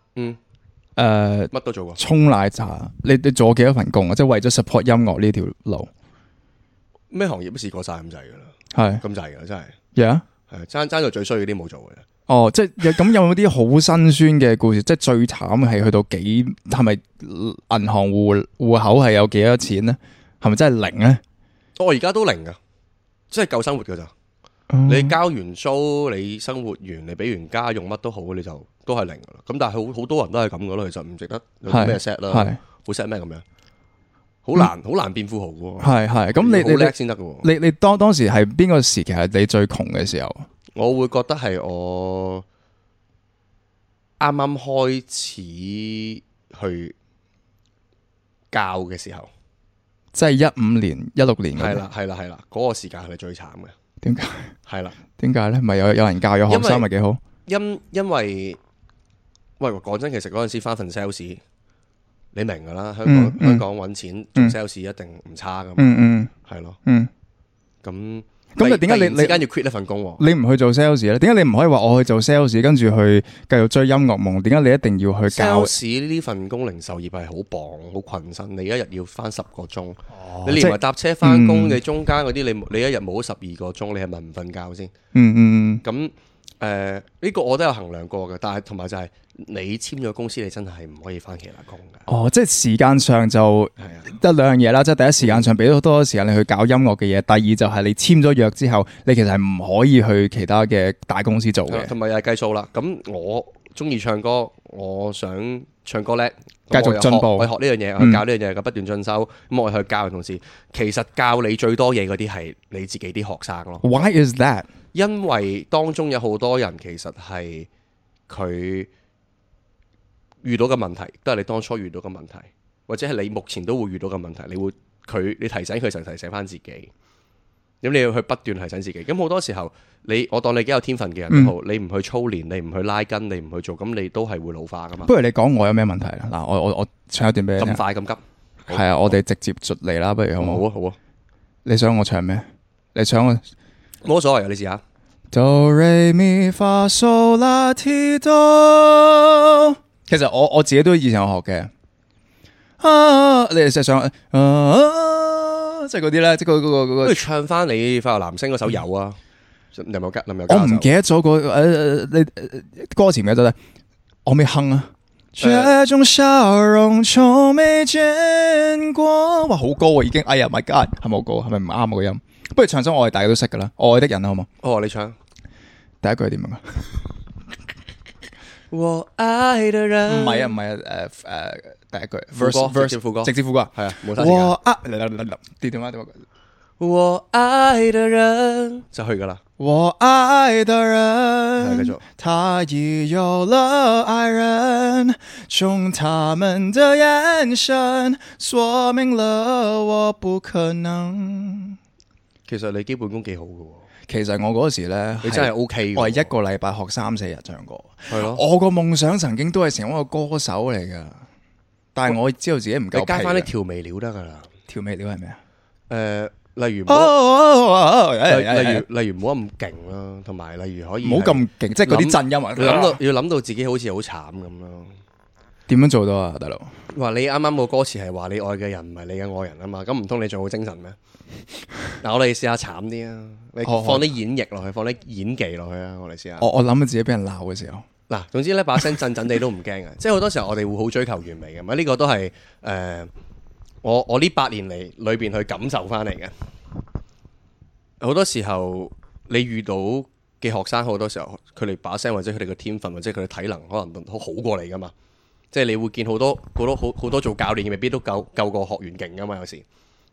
乜都做過。 沖奶茶，你做過幾多份工啊？即係為咗 support 音樂呢條路， 咩行業都試過晒咁滯噶啦， 係咁滯噶真係。 Yeah， 係爭到最衰嗰啲冇做嘅。 哦，即係咁有冇啲好辛酸嘅故事？即係最慘係去到係咪銀行戶口係有幾多錢咧？係咪真係零咧？ 我而家都零噶，即係夠生活噶咋。你交完租，你生活完，你俾完家用乜都好，你就都係零噶啦。咁但係好多人都係咁噶咯，其實唔值得有咩 set 啦，好 set 咩咁樣，好難變富豪噶。係咁你好叻先得噶。 你當時係邊個時期係你最窮嘅時候？ 我會覺得係我啱啱開始去教嘅時候。 即係15年、16年係啦，嗰個時間係最慘嘅。 點解？ 係啦， 點解咧？咪有人教，有學生咪幾好？ 因為喂，講真，其實嗰陣時翻份 sales，你明噶啦，香港揾錢做 sales 一定唔差噶嘛。係咯。咁你點解你間要 quit 一份工？ 你唔去做 sales 咧？點解你唔可以話我去做 sales，跟住去繼續追音樂夢？點解你一定要去教 sales 呢份工？零售業係好磅、好困身，你一日要翻10個鐘，你連埋搭車翻工，你中間嗰啲你一日冇12個鐘，你係咪唔瞓覺先？咁呢個我都有衡量過嘅，但係同埋就係你簽咗公司，你真係唔可以翻其他工嘅。 即係時間上就得兩樣嘢啦，即係第一時間上俾咗多時間你去搞音樂嘅嘢，第二就係你簽咗約之後，你其實係唔可以去其他嘅大公司做嘅。 同埋又係計數啦。咁我中意唱歌，我想唱歌叻， 繼續進步， 我學呢樣嘢，我去教呢樣嘢，咁不斷進修。咁我去教嘅同時，其實教你最多嘢嗰啲係你自己啲學生咯。 Why is that？ 因為當中有好多人其實係佢遇到嘅問題，都係你當初遇到嘅問題，或者係你目前都會遇到嘅問題。你提醒佢就提醒翻自己。咁你要去不斷提醒自己。咁好多時候，我當你幾有天分嘅人都好，你唔去操練，你唔去拉筋，你唔去做，咁你都係會老化噶嘛。 不如你講我有咩問題啦？嗱，我唱一段俾你聽。 咁快咁急？ 係啊，我哋直接嚟啦，不如好唔好？ 好啊。 你想我唱咩？你想我？ 冇所謂啊，你試下。 Do re mi fa sol la ti do。其實我自己都以前有學嘅。你哋成日想即係嗰啲咧，即係嗰個。 不如唱翻你快樂男聲嗰首有啊？林宥嘉。 我唔記得咗你歌詞唔記得咧，我未哼啊。這種笑容從未見過。哇，好高啊，已經。哎呀 ，My God， 係咪好高？係咪唔啱我個音？不如唱首我哋大家都識噶啦，愛的人好冇？ 哦，你唱第一句係點樣啊？ 我愛的人唔係啊，第一句 verse 直接副歌， 係啊，冇晒時間。我愛的人就去噶啦。 我愛的人， 繼續。 他已有了愛人，從他們的眼神說明了我不可能。 其實你基本功幾好噶。 其實我嗰時咧， 你真係 OK。 我係一個禮拜學3-4日唱歌。 係咯。 我個夢想曾經都係成為一個歌手嚟噶，但係我知道自己唔夠。 你加翻啲調味料得噶啦。 調味料係咩啊？ 例如唔好咁勁啦，同埋例如可以唔好咁勁，即係嗰啲震音啊！ 要諗到自己好似好慘咁咯。 點樣做到啊，大佬？ 話你啱啱個歌詞係話你愛嘅人唔係你嘅愛人啊嘛，咁唔通你仲好精神咩？嗱，我哋試下慘啲啊！你放啲演繹落去，放啲演技落去啊！我哋試下。 我諗到自己俾人鬧嘅時候， 嗱，總之咧把聲震震地都唔驚嘅，即係好多時候我哋會好追求完美嘅，呢個都係我呢8年嚟裏邊去感受翻嚟嘅。好多時候你遇到嘅學生，好多時候佢哋把聲或者佢哋嘅天分或者佢哋體能可能都好過你噶嘛。即係你會見好多做教練未必都夠個學員勁噶嘛。有時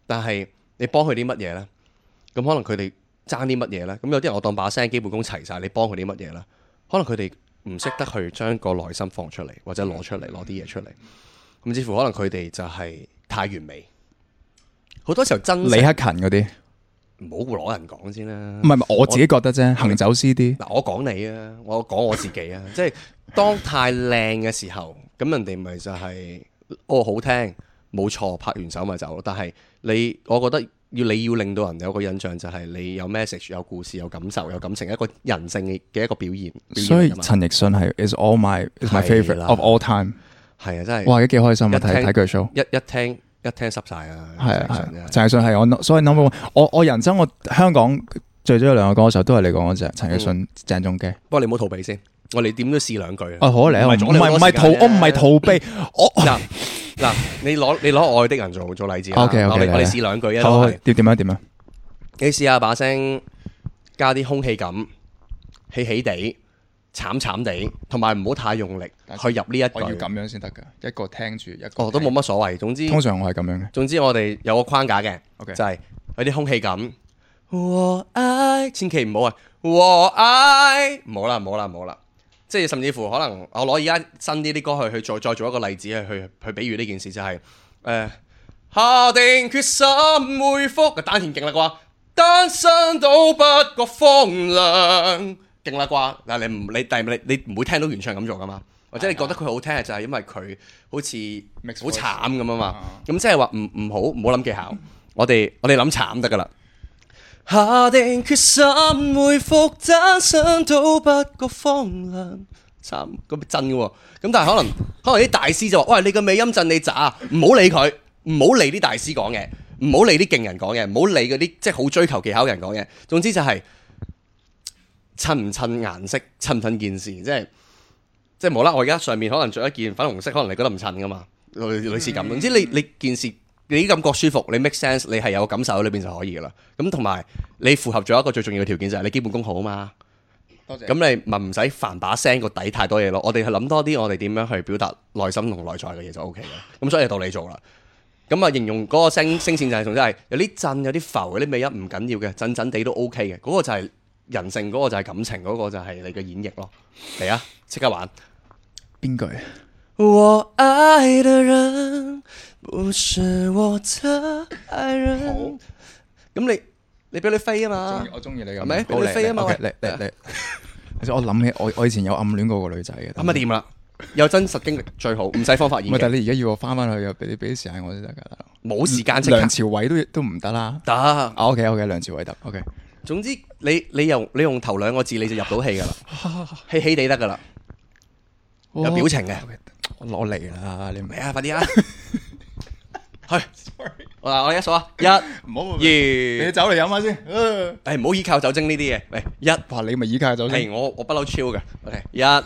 但係你幫佢啲乜嘢咧？咁可能佢哋爭啲乜嘢咧？咁有啲人我當把聲基本功齊晒，你幫佢啲乜嘢咧？可能佢哋唔識得去將個內心放出嚟，或者攞出嚟，攞啲嘢出嚟。甚至乎可能佢哋就係太完美。好多時候真李克勤嗰啲， 唔好攞人講先啦。 唔係我自己覺得啫，行走 CD。 嗱，我講你啊，我講我自己啊，即係當太靚嘅時候，咁人哋咪就係好聽，冇錯，拍完手咪走咯。但係我覺得你要令到人有個印象，就係你有 message、有故事、有感受、有感情，一個人性嘅一個表現。 所以陳奕迅係 is my favorite of all time。係啊，真係哇，幾開心啊！睇佢 show， 一聽濕晒啊！ 係陳奕迅係我所以 number one。我人生我香港最中意兩個歌手都係你講嗰隻陳奕迅、鄭中基。 不過你唔好逃避先，我哋點都試兩句啊！ 好嚟，我唔係逃避。 嗱，你攞愛的人做例子啦。 OK， 我哋試兩句啊。 好，點啊？ 你試下把聲加啲空氣感，起起地。慘慘地，同埋唔好太用力去入呢一句。 我要咁樣先得㗎，一個聽住一個。 都冇乜所謂。總之， 通常我係咁樣嘅。 總之我哋有個框架嘅，okay. 就係有啲空氣感。我愛，千祈唔好啊！我愛，唔好啦。即係甚至乎可能我攞而家新啲歌去再做一個例子去比喻呢件事，就係下定決心回復，丹田勁啦啩，單身都不覺荒涼。勁啦啩，但係你唔會聽到原唱咁做噶嘛？或者你覺得佢好聽，就係因為佢好似好慘咁啊嘛？咁即係話唔好諗技巧，我哋諗慘得噶啦。下定決心回復單身都不覺荒涼，慘咁真嘅喎。咁但係可能啲大師就話：喂，你個尾音震你渣，唔好理佢，唔好理啲大師講嘅，唔好理啲勁人講嘅，唔好理嗰啲即係好追求技巧嘅人講嘅。總之就係。襯唔襯顏色，襯唔襯件事，即係冇啦。我而家上面可能着一件粉紅色，可能你覺得唔襯噶嘛，類似咁。總之你件事你啲感覺舒服，你 make sense， 你係有感受喺裏邊就可以噶啦。咁同埋你符合咗一個最重要嘅條件，就係你基本功好啊嘛。多謝。咁你咪唔使煩把聲個底太多嘢咯。我哋係諗多啲，我哋點樣去表達內心同內在嘅嘢就 OK 嘅。咁所以就到你做啦。咁啊，形容嗰個聲線就係仲真係有啲震，有啲浮，有啲尾音唔緊要嘅，震震地都 OK 嘅。嗰個就係。人性嗰個就係感情，嗰個就係你嘅演繹咯。嚟啊，即刻玩邊句？ 我愛的人不是我的愛人。好，咁你俾你飛啊嘛！ 我中意你咁， 係咪？俾你飛啊嘛！ 嚟。其實我諗起我以前有暗戀過個女仔嘅。 咁啊掂啦，有真實經歷最好，唔使方法演繹。 但係你而家要我翻去，又俾啲時間我先得㗎。 冇時間即刻。 梁朝偉都唔得啦。 得。 OK，梁朝偉得。OK。 總之你用頭兩個字你就入到戲噶啦，氣氣地得噶啦，有表情嘅。 我攞嚟啦，你唔係啊，快啲啊！去，我哋一數啊，一、二， 你走嚟飲下先。 唔好依靠酒精呢啲嘢。嚟，一， 哇，你咪依靠酒精。 係我不嬲超嘅。OK，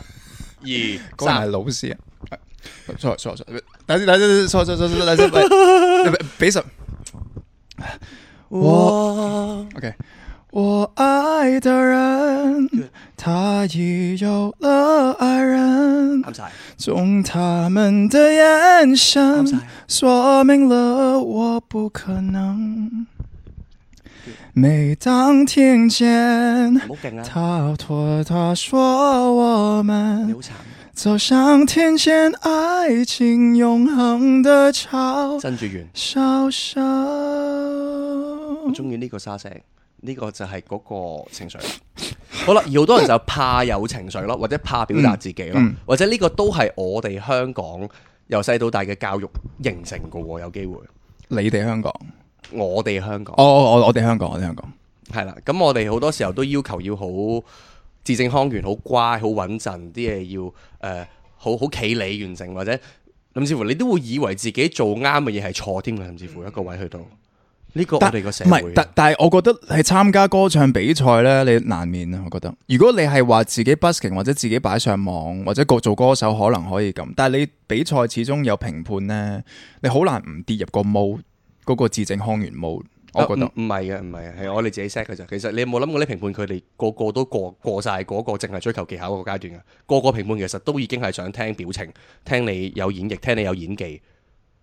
1、2、3。 係老師啊。錯，等先，錯，俾十。OK。我愛的人，他已有了愛人。從他們的眼神，說明了我不可能。每當聽見他拖他說我們走向天間，愛情永恆的嘲笑。 我中意呢個沙聲。呢個就係嗰個情緒。好啦，而好多人就怕有情緒咯，或者怕表達自己咯，或者呢個都係我哋香港由細到大嘅教育形成嘅喎，有機會。 你哋香港， 我哋香港。 我哋香港， 係啦，咁我哋好多時候都要求要好字正腔圓、好乖、好穩陣，啲嘢要好企理完成，或者甚至乎你都會以為自己做啱嘅嘢係錯添嘅，甚至乎一個位去到。呢個我哋個社會唔係， 但係我覺得係參加歌唱比賽咧，你難免啊。我覺得，如果你係話自己 busking 或者自己擺上網或者做歌手，可能可以咁。但係你比賽始終有評判咧，你好難唔跌入個 mode 嗰個字正腔圓 mode。我覺得唔係嘅，係我哋自己 set 嘅啫。其實你有冇諗過啲評判佢哋個個都過晒嗰個淨係追求技巧嗰個階段嘅？個個評判其實都已經係想聽表情，聽你有演繹，聽你有演技。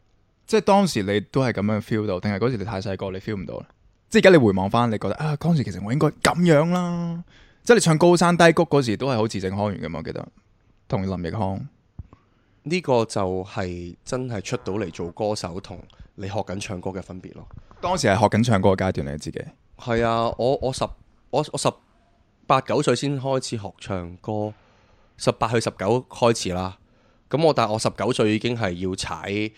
即係當時你都係咁樣 feel 到，定係嗰時你太細個你 feel 唔到咧？即係而家你回望翻，你覺得啊，嗰時其實我應該咁樣啦。即係你唱高山低谷嗰時都係好字正腔圓噶嘛，我記得同林奕匡。 呢個就係真係出到嚟做歌手同你學緊唱歌嘅分別咯。 當時係學緊唱歌嘅階段，你自己係啊，我18、9歲先開始學唱歌，18去19開始啦。咁但係我19歲已經係要踩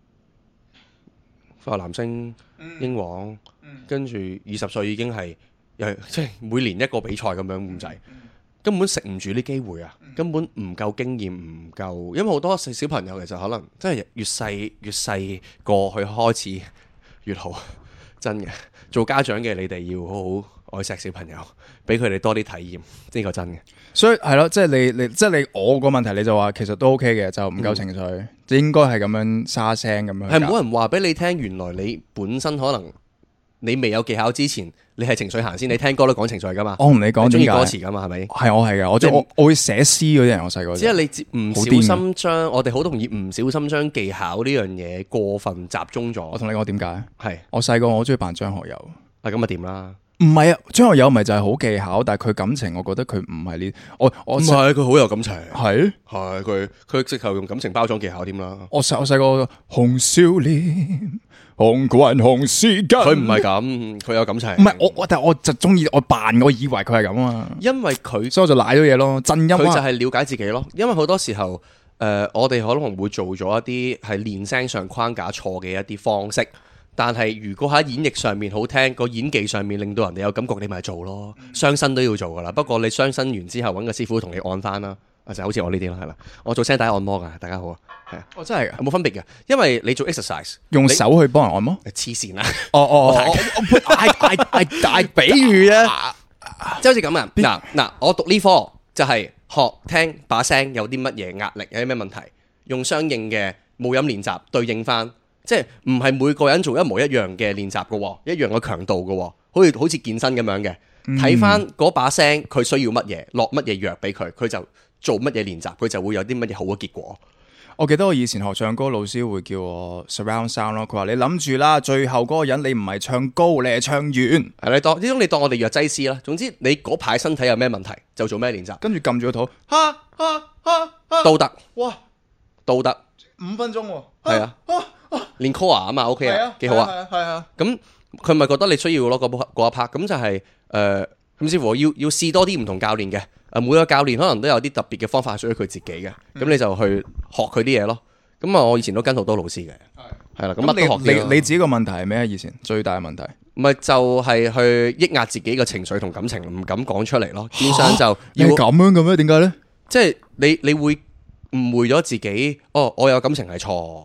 快樂男聲、英皇，跟住20歲已經係即係每年一個比賽咁樣咁滯，根本食唔住啲機會啊！根本唔夠經驗，唔夠，因為好多小朋友其實可能真係越細個去開始越好，真嘅。做家長嘅你哋要好好愛錫小朋友，俾佢哋多啲體驗，呢個真嘅。 所以係咯，即係你我個問題，你就話其實都 OK 嘅，就唔夠情緒，應該係咁樣沙聲咁樣。 係冇人話俾你聽，原來你本身可能你未有技巧之前，你係情緒行先。你聽歌都講情緒噶嘛？ 我同你講， 中意歌詞噶嘛？係咪？ 係我係嘅，我會寫詩嗰啲人，我細個。 只係你唔小心將我哋好容易唔小心將技巧呢樣嘢過分集中咗。 我同你講點解？ 係我細個我好中意扮張學友。 咁啊點啦？ 唔係啊，張學友咪就係好技巧，但係佢感情，我覺得佢唔係呢。我唔係佢好有感情， 係佢直頭用感情包裝技巧添啦。 我細個紅少年，紅棍紅絲巾， 佢唔係咁，佢有感情。 唔係但係我就中意我扮，我以為佢係咁啊。 因為佢， 所以我就賴咗嘢咯。震音佢就係了解自己咯。因為好多時候，我哋可能會做咗一啲係練聲上框架錯嘅一啲方式。但係如果喺演繹上面好聽，個演技上面令到人哋有感覺，你咪做咯。傷身都要做噶啦，不過你傷身完之後揾個師傅同你按翻啦，就好似我呢啲咯，係啦。我做聲帶按摩噶，大家好啊，係啊。 真係冇分別嘅，因為你做 exercise 用手去幫人按摩， 黐線啦。 我大比喻啊，即係好似咁啊。嗱，我讀呢科就係學聽把聲有啲乜嘢壓力，有啲咩問題，用相應嘅母音練習對應翻。即係唔係每個人做一模一樣嘅練習嘅，一樣嘅強度嘅，好似健身咁樣嘅。睇翻嗰把聲，佢需要乜嘢，落乜嘢藥俾佢，佢就做乜嘢練習，佢就會有啲乜嘢好嘅結果。 我記得我以前學唱歌，老師會叫我 surround sound 咯。佢話你諗住啦，最後嗰個人你唔係唱高，你係唱遠。 係你當我哋藥劑師啦。總之你嗰排身體有咩問題，就做咩練習。 跟住撳住個肚， 都得。 哇， 都得。 5分鐘喎。 係啊。練 core 啊嘛 ，OK 啊，幾好啊。 係啊。 咁佢咪覺得你需要咯嗰一 part，咁就係甚至乎要試多啲唔同教練嘅。每個教練可能都有啲特別嘅方法屬於佢自己嘅。咁你就去學佢啲嘢咯。咁我以前都跟好多老師嘅。係啦。咁乜都學。 你自己個問題係咩？以前最大嘅問題咪就係去抑壓自己嘅情緒同感情，唔敢講出嚟咯。變相就要咁樣嘅咩？點解咧？ 即係你會誤會咗自己。我有感情係錯。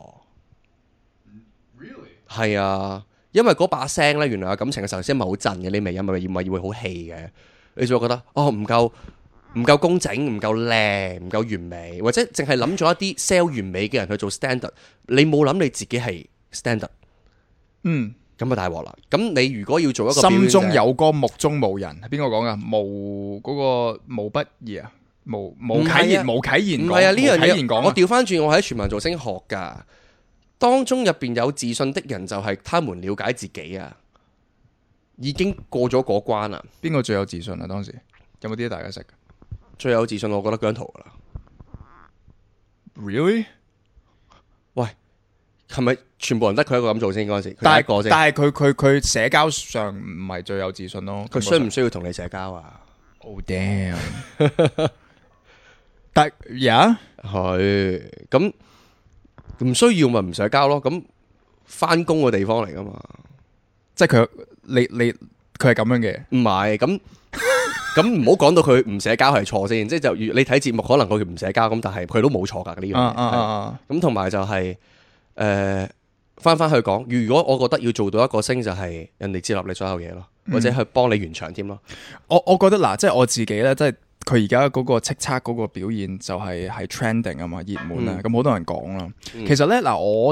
係啊，因為嗰把聲咧，原來有感情嘅時候先唔係好震嘅，你咪因為會好氣嘅，你就會覺得唔夠工整，唔夠靚，唔夠完美，或者淨係諗咗一啲 sell 完美嘅人去做 standard， 你冇諗你自己係 standard， 咁啊大鑊啦！咁你如果要做一個心中有歌，目中無人，係邊個講噶？無嗰個無不義啊，無啟言，無啟言， 唔係啊呢樣嘢，我調翻轉，我喺全民造星學噶。當中入邊有自信的人，就係他們了解自己啊，已經過咗嗰關啦。 邊個最有自信啊？當時有冇啲大家識？ 最有自信，我覺得姜濤噶啦。 Really？ 喂，係咪全部人得佢一個咁做先嗰陣時？但係佢社交上唔係最有自信咯。 佢需唔需要同你社交啊 ？Oh damn！ 但係係咁。唔需要咪唔社交咯，咁翻工嘅地方嚟噶嘛， 即係佢佢係咁樣嘅， 唔係咁唔好講到佢唔社交係錯先，即係就你睇節目可能佢唔社交咁，但係佢都冇錯噶呢樣嘢。咁同埋就係翻去講，如果我覺得要做到一個星就係人哋接納你所有嘢咯，或者去幫你完場添咯。 我覺得嗱，即係我自己咧，即係。佢而家嗰個叱咤嗰個表現就係 trending 啊嘛，熱門啊，咁好多人講啦。其實咧嗱，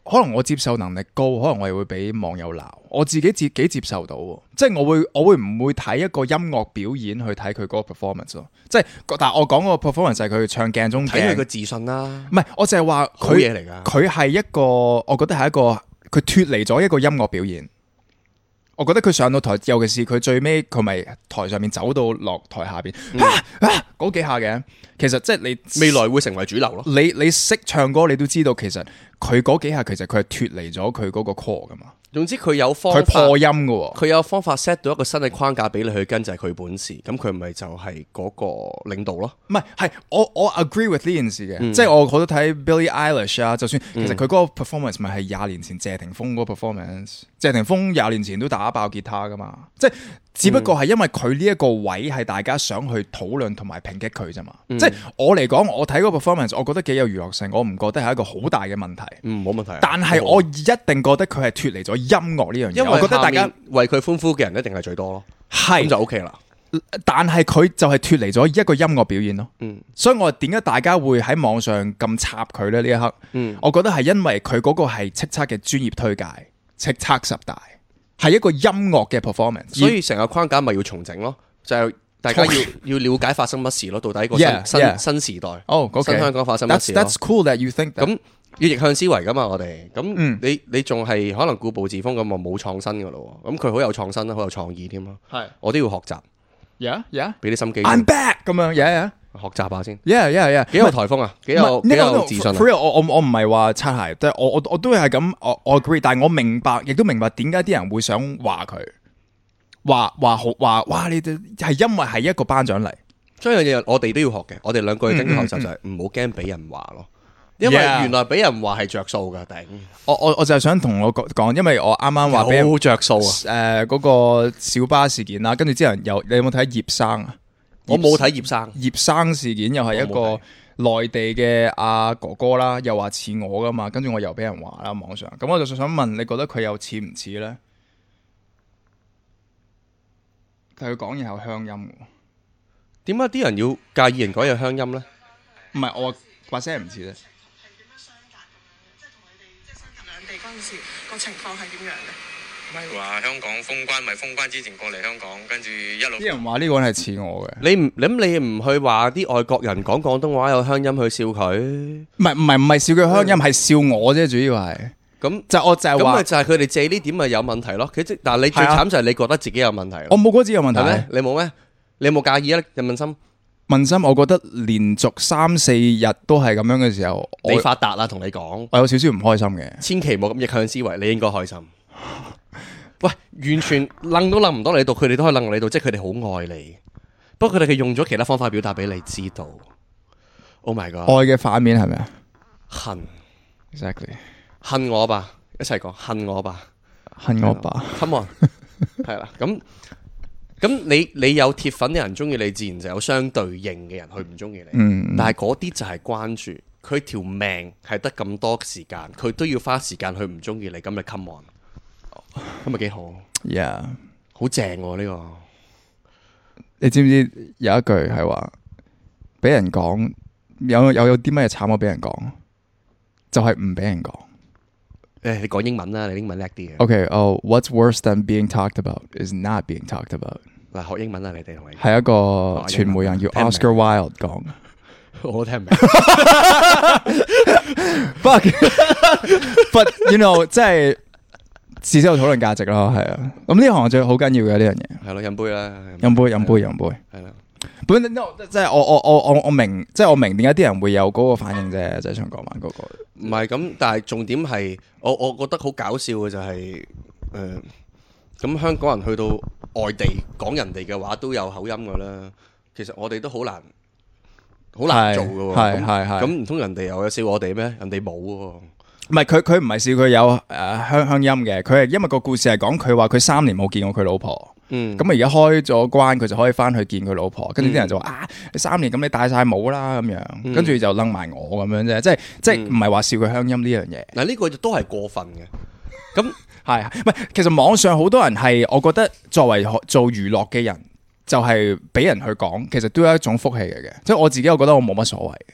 可能我接受能力高，可能我又會俾網友鬧，我自己接受到，即係我會唔會睇一個音樂表演去睇佢嗰個 performance 咯？即係但係我講嗰個 performance 就係佢唱鏡中鏡， 睇佢嘅自信啦。 唔係，我就係話好嘢嚟㗎。 佢係一個，我覺得係一個佢脫離咗一個音樂表演。我覺得佢上到台，尤其是佢最尾佢咪台上面走到落台下邊嗰幾下嘅，其實即係你未來會成為主流咯。 你識唱歌，你都知道其實佢嗰幾下其實佢係脫離咗佢嗰個 core 噶嘛。 總之佢有方法， 佢破音噶喎， 佢有方法 set 到一個新嘅框架俾你去跟，就係佢本事。咁佢咪就係嗰個領導咯。 唔係我 agree with 呢件事嘅，即係我好多睇 Billie Eilish 啊，就算其實佢嗰個 performance 咪係20年前謝霆鋒嗰個 performance，謝霆鋒20年前都打爆吉他噶嘛，即係只不過係因為佢呢一個位係大家想去討論同埋抨擊佢啫嘛。即係我嚟講，我睇嗰個 performance，我覺得幾有娛樂性，我唔覺得係一個好大嘅問題。 冇問題。 但係我一定覺得佢係脫離咗音樂呢樣嘢，因為我覺得大家為佢歡呼嘅人一定係最多咯， 係咁就 OK 啦。 但係佢就係脫離咗一個音樂表演咯，所以我點解大家會喺網上咁插佢咧？呢一刻，我覺得係因為佢嗰個係叱咤嘅專業推介，叱咤10大係一個音樂嘅 performance， 所以成個框架咪要重整咯，就係大家要了解發生乜事咯，到底個新時代，新香港發生乜事咯。 That's cool that you think that。 咁要逆向思維噶嘛，我哋咁你仲係可能固步自封咁啊，冇創新噶咯。咁佢好有創新啦，好有創意添咯。係，我都要學習。 Yeah， 俾啲心機。 I'm back 咁樣，yeah， 學習下先。 Yeah， 幾有台風啊，幾有自信啊。 我唔係話擦鞋，即係我都係咁，我 agree，但係我明白，亦都明白點解啲人會想話佢，話哇，你哋係因為係一個頒獎禮， 所以樣嘢我哋都要學嘅。我哋兩個嘅跟住學習就係唔好驚俾人話咯。因為原來俾人話係着數噶，頂！ 我就係想同我講，因為我啱啱話俾人好着數啊！ 嗰個小巴事件啦，跟住之後你有冇睇葉生啊？ 我冇睇葉生。 葉生事件又係一個內地嘅阿哥哥啦，又話似我噶嘛，跟住我又俾人話啦網上。咁我就想問，你覺得佢又似唔似咧？但係佢講嘢有鄉音喎。 點解啲人要介意人講嘢鄉音咧？ 唔係我把聲唔似咧。 嗰陣時個情況係點樣嘅？ 咪話香港封關，咪封關之前過嚟香港，跟住一路。 啲人話呢個人係似我嘅。 你唔去話啲外國人講廣東話有鄉音去笑佢？ 唔係笑佢鄉音，係笑我啫，主要係。咁就我就係話， 咁咪就係佢哋借呢點咪有問題咯。但係你最慘就係你覺得自己有問題。 我冇覺得自己有問題咩？ 你冇咩？你有冇介意啊？人問心。 問心，我覺得連續3-4日都係咁樣嘅時候， 你發達啦，同你講， 我有少少唔開心嘅。 千祈冇咁逆向思維，你應該開心。喂，完全楞都楞唔到你度，佢哋都可以楞你度，即係佢哋好愛你。不過佢哋用咗其他方法表達俾你知道。Oh my god！ 愛嘅反面係咪啊？ 恨 ，exactly， 恨我吧，一齊講恨我吧， 恨我吧。 Come on， 係啦，咁你有鐵粉嘅人中意你，自然就有相對應嘅人去唔中意你。但係嗰啲就係關注佢條命係得咁多時間，佢都要花時間去唔中意你，咁咪 come on， 咁咪幾好 ？Yeah， 好正喎呢個。 你知唔知有一句係話俾人講有啲乜嘢慘過俾人講，就係唔俾人講。 你講英文啦，你英文叻啲嘅。 What's worse than being talked about is not being talked about。 嗱，學英文啊，你哋同你係一個傳媒人叫 Oscar Wilde 講， 我都聽唔明。 But you know， 即係至少有討論價值咯，係啊。咁呢行最好緊要嘅呢樣嘢， 係咯，飲杯啦， 飲杯，係啦。本 no， 即係我明，即係我明點解啲人會有嗰個反應啫，就係想講話嗰個。 唔係咁，但係重點係，我覺得好搞笑嘅就係，咁香港人去到外地講人哋嘅話都有口音噶啦。其實我哋都好難做噶喎。係。咁唔通人哋又有笑我哋咩？人哋冇喎。 唔係佢唔係笑佢有鄉音嘅，佢係因為個故事係講佢話佢3年冇見過佢老婆。咁而家開咗關，佢就可以翻去見佢老婆。跟住啲人就話你3年咁你戴晒帽啦咁樣，跟住就楞埋我咁樣啫，即係唔係話笑佢鄉音呢樣嘢。 嗱呢個都係過分嘅。咁係唔係？其實網上好多人係，我覺得作為做娛樂嘅人，就係俾人去講，其實都有一種福氣嚟嘅。即係我自己，我覺得我冇乜所謂嘅。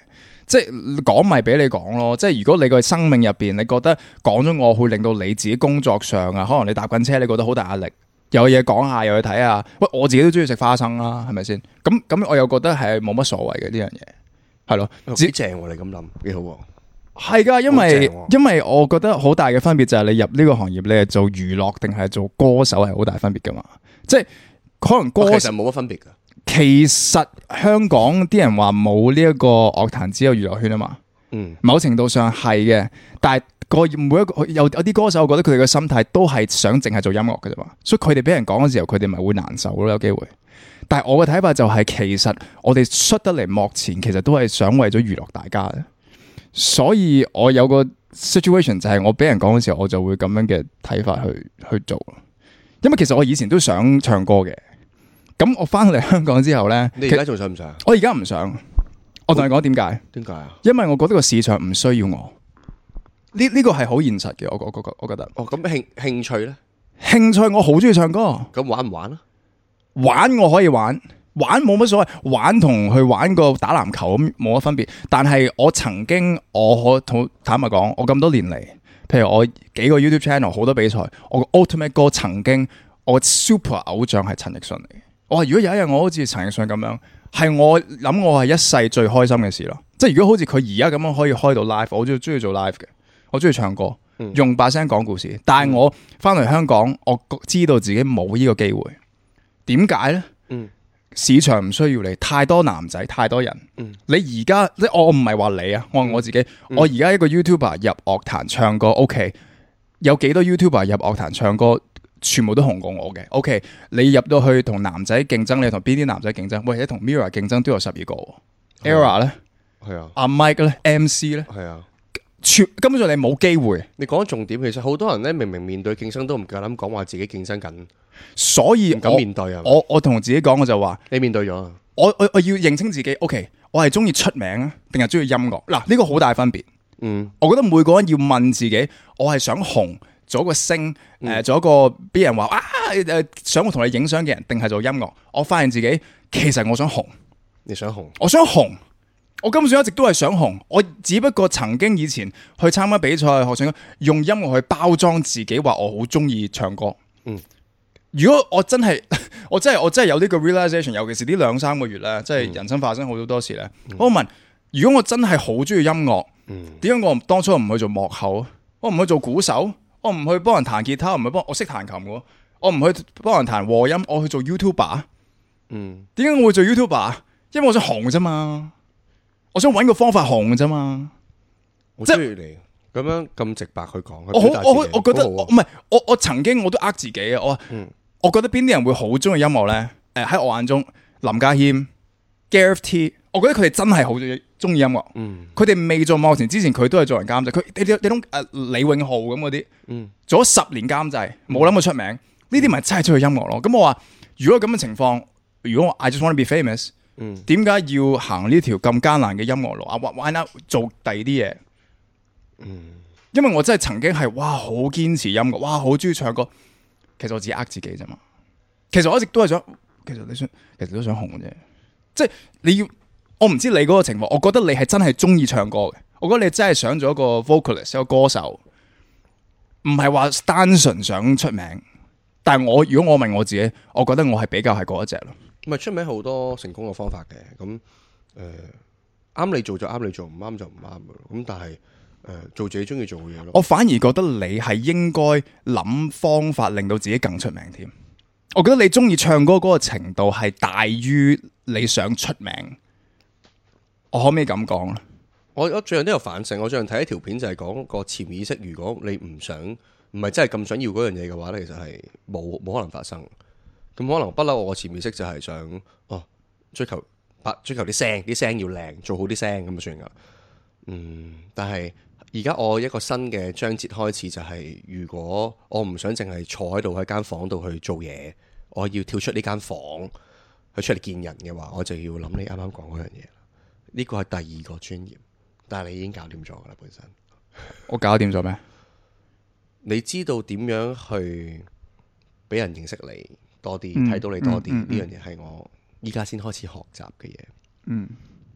即係講咪俾你講咯。即係如果你個生命入邊，你覺得講咗我會令到你自己工作上啊，可能你搭緊車，你覺得好大壓力，有嘢講下，又去睇下。喂，我自己都中意食花生啦，係咪先？咁我又覺得係冇乜所謂嘅呢樣嘢，係咯， 幾正喎！你咁諗幾好喎。 係噶，因為我覺得好大嘅分別就係你入呢個行業，你係做娛樂定係做歌手係好大分別噶嘛。即係可能歌手其實冇乜分別噶。 其實香港啲人話冇呢一個樂壇，只有娛樂圈啊嘛。某程度上係嘅，但係每一個有啲歌手，我覺得佢哋嘅心態都係想淨係做音樂嘅啫嘛。所以佢哋俾人講嘅時候，佢哋咪會難受咯，有機會。但係我嘅睇法就係，其實我哋出得嚟幕前，其實都係想為咗娛樂大家嘅。所以我有個 situation 就係我俾人講嘅時候，我就會咁樣嘅睇法去做。因為其實我以前都想唱歌嘅，咁我翻嚟香港之後咧， 你而家仲想唔想？ 我而家唔想。我同你講點解？ 點解啊？ 因為我覺得個市場唔需要我。呢個係好現實嘅，我覺得。 哦，咁興趣咧？ 興趣我好中意唱歌。 咁玩唔玩啊？ 玩我可以玩。玩冇乜所謂，玩同去玩個打籃球咁冇乜分別。但係我曾經，我坦白講，我咁多年嚟，譬如我幾個 YouTube channel 好多比賽，我個 Ultimate 歌曾經我 super 偶像係陳奕迅嚟嘅。我話如果有一日我好似陳奕迅咁樣，係我諗我係一世最開心嘅事咯。即係如果好似佢而家咁樣可以開到 live，我最中意做 live 嘅，我中意唱歌，用把聲講故事。但係我翻嚟香港，我知道自己冇呢個機會。點解咧？市場唔需要你，太多男仔，太多人。你而家即我唔係話你啊，我係我自己。我而家一個 YouTuber 入樂壇唱歌 ，OK， 有幾多 YouTuber 入樂壇唱歌，全部都紅過我嘅。OK， 你入到去同男仔競爭，你同邊啲男仔競爭？喂，你同 Mirror 競爭都有12個。Era 咧，係啊，阿 Mike 咧 ，MC 咧，係啊。根本上你冇機會。 你講重點，其實好多人咧，明明面對競爭都唔夠膽講話自己競爭緊， 所以唔敢面對啊。 我同自己講，我就話你面對咗。 我要認清自己。OK， 我係中意出名啊，定係中意音樂？嗱，呢個好大分別。我覺得每個人要問自己，我係想紅，做一個星，做一個俾人話想我同你影相嘅人，定係做音樂？我發現自己其實我想紅。 你想紅？ 我想紅。我根本上一直都係想紅，我只不過曾經以前去參加比賽學唱歌，用音樂去包裝自己，話我好中意唱歌。如果我真係我真係有呢個 realization， 尤其是呢2-3個月咧，即係人生發生好多事咧。我問：如果我真係好中意音樂，點解我當初唔去做幕後？我唔去做鼓手，我唔去幫人彈吉他，我識彈琴嘅，我唔去幫人彈和音，我去做 YouTuber。點解我會做 YouTuber？因為我想紅啫嘛。我想揾個方法紅啫嘛， 即係你咁樣咁直白去講， 我覺得唔係我曾經我都呃自己啊，我覺得邊啲人會好中意音樂咧？喺我眼中，林家謙、Gareth T， 我覺得佢哋真係好中意音樂。佢哋未做幕前之前，佢都係做人監製。佢你種李永浩咁嗰啲，做咗10年監製，冇諗過出名。呢啲咪真係中意音樂咯？咁我話，如果咁嘅情況，如果我 I just want to be famous。點解要行呢條咁艱難嘅音樂路啊？Why not 做第二啲嘢？因為我真係曾經係好堅持音樂，好中意唱歌。其實我自己呃自己啫嘛。其實我一直都係想，其實都想紅嘅啫。即係你要，我唔知你嗰個情況。我覺得你係真係中意唱歌嘅。我覺得你真係想做一個 vocalist，一個歌手，唔係話單純想出名。但係如果我問我自己，我覺得我係比較係嗰一隻咯。 唔係出名好多成功嘅方法嘅，咁啱你做就啱你做，唔啱就唔啱嘅。咁但係做自己中意做嘅嘢咯。我反而覺得你係應該諗方法令到自己更出名添。我覺得你中意唱歌嗰個程度係大於你想出名。我可唔可以咁講咧？我最近都有反省。我最近睇一條片就係講個潛意識，如果你唔係真係咁想要嗰樣嘢嘅話咧，其實係冇可能發生。咁可能不嬲，我潛意識就係想追求啲聲要靚，做好啲聲咁就算噶。但係而家我一個新嘅章節開始就係，如果我唔想淨係坐喺度喺間房度去做嘢，我要跳出呢間房去出嚟見人嘅話，我就要諗你啱啱講嗰樣嘢。呢個係第2個專業，但係你已經搞掂咗噶啦，本身。我搞掂咗咩？你知道點樣去俾人認識你多啲，睇到你多啲，呢樣嘢係我依家先開始學習嘅嘢。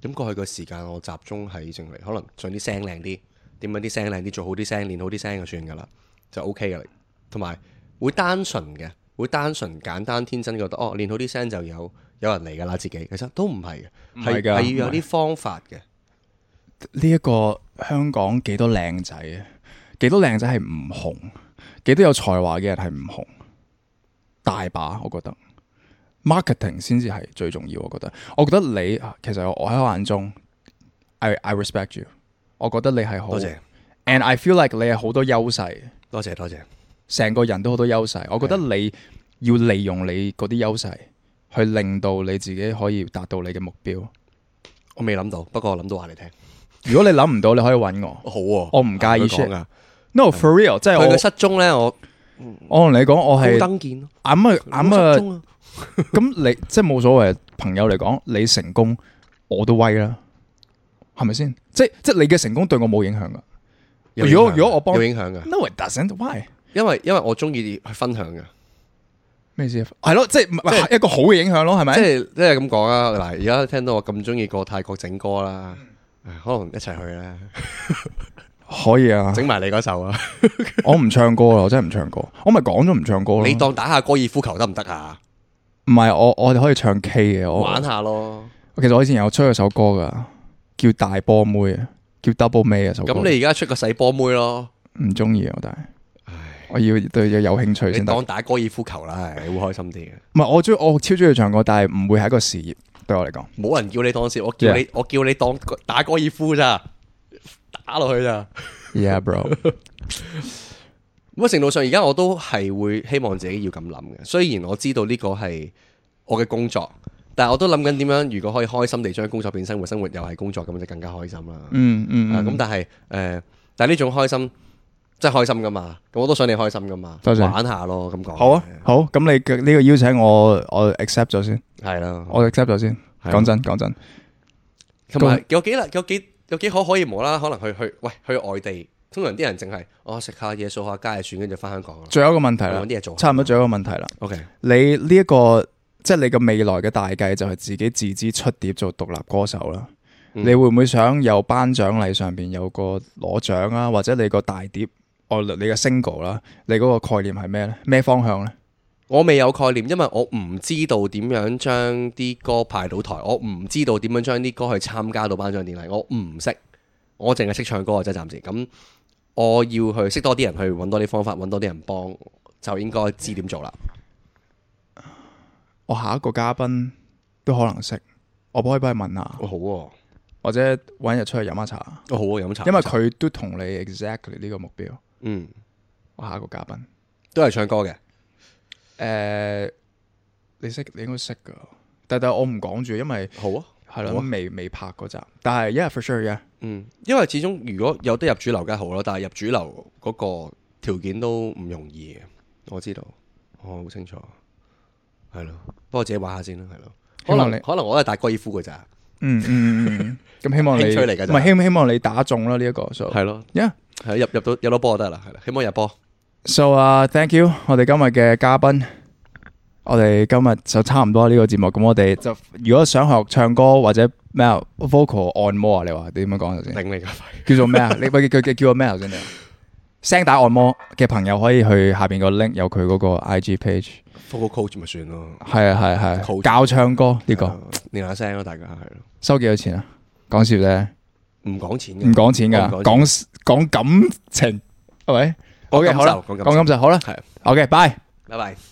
咁過去個時間我集中喺淨係可能唱啲聲靚啲，點樣啲聲靚啲，做好啲聲，練好啲聲就算噶啦，就 OK 噶啦。同埋會單純嘅，會單純簡單天真覺得練好啲聲就有人嚟噶啦，自己其實都唔係嘅，係要有啲方法嘅。 呢一個香港幾多靚仔啊？幾多靚仔係唔紅？幾多有才華嘅人係唔紅？大把，我覺得 marketing 先至係最重要。我覺得你其實我喺我眼中 I respect you。我覺得你係好， 多謝。 And I feel like 你係好多優勢。 多謝。 成個人都好多優勢。我覺得你要利用你嗰啲優勢，去令到你自己可以達到你嘅目標。 我未諗到，不過我諗到話你聽。 如果你諗唔到，你可以揾我。 好啊， 我唔介意 share。No for real， 即係佢嘅失蹤咧，我同你講，我係登見， 咁你即係冇所謂。朋友嚟講，你成功我都威啦，係咪先？即係你嘅成功對我冇影響噶。如果我幫有影響噶 ，No it doesn't。Why？ 因為我中意去分享嘅。 咩意思？係咯，即係一個好嘅影響咯，係咪？ 即係咁講啊！嗱，而家聽到我咁中意過泰國整歌啦，可能一齊去咧。 可以啊， 整埋你嗰首啊！ 我唔唱歌啦，我真係唔唱歌。我咪講咗唔唱歌咯。 你當打下高爾夫球得唔得啊？ 唔係，我哋可以唱 K 嘅， 玩下咯。 其實我以前有出過首歌噶，叫大波妹啊，叫 Double May 啊首歌。 咁你而家出個細波妹咯？ 唔中意啊，但係我要對嘢有興趣先。 你當打高爾夫球啦，係會開心啲嘅。 唔係，我超中意唱歌，但係唔會係一個事業對我嚟講。 冇人叫你當事，我叫你當打高爾夫咋。打落去咋 ？Yeah, bro。 咁程度上，而家我都係會希望自己要咁諗嘅。雖然我知道呢個係我嘅工作，但係我都諗緊點樣，如果可以開心地將工作變生活，生活又係工作，咁就更加開心啦。咁但係呢種開心真係開心噶嘛？咁我都想你開心噶嘛？ 多謝玩下咯，咁講。好啊，好。咁你呢個邀請我 accept 咗先。 係啦， 我 accept 咗先。講真。 同埋有幾可以無啦，可能去外地。通常啲人淨係食下嘢、掃下街就算，跟住翻香港啦。 仲有一個問題啦， 揾啲嘢做。 差唔多仲有一個問題啦。 OK， 你呢一個即係你嘅未來嘅大計就係自己自資出碟做獨立歌手啦。你會唔會想有頒獎禮上邊有個攞獎啊？或者你個大碟你嘅 single 啦，你嗰個概念係咩咧？咩方向咧？ 我未有概念，因為我唔知道點樣將啲歌派到台，我唔知道點樣將啲歌去參加到頒獎典禮，我唔識，我淨係識唱歌啊！即係暫時咁，我要去識多啲人，去揾多啲方法，揾多啲人幫，就應該知點做啦。 我下一個嘉賓都可能識，我可以幫佢問下。 好喎， 或者揾日出去飲下茶。 好啊，飲茶。 因為佢都同你 exactly 呢個目標。我下一個嘉賓都係唱歌嘅。 你應該識噶，但我唔講住，因為好啊， 係咯，未拍嗰集，但係 yeah for sure yeah， 因為始終如果有得入主流梗係好咯，但係入主流嗰個條件都唔容易嘅，我知道，我好清楚，係咯，不過自己玩下先啦，係咯，可能我都係打高爾夫噶咋， 咁希望你興趣嚟噶， 唔係希望你打中啦呢一個， 係咯 ，yeah， 係入到波就得啦，係啦，希望入波。 So thank you， 我哋今日嘅嘉賓，我哋今日就差唔多呢個節目。咁我哋就如果想學唱歌或者咩 vocal 按摩啊，你話點樣講頭先？ 頂你個肺！ 叫做咩啊？你佢叫個咩頭先？聲帶按摩嘅朋友可以去下邊個 link 有佢嗰個 IG page。vocal coach 咪算咯。 係啊，教唱歌呢個練下聲咯，大家係咯。 收幾多錢啊？講笑啫， 唔講錢嘅， 唔講錢噶，講感情係咪？OK，好啦，講感受好啦，係 OK，拜拜。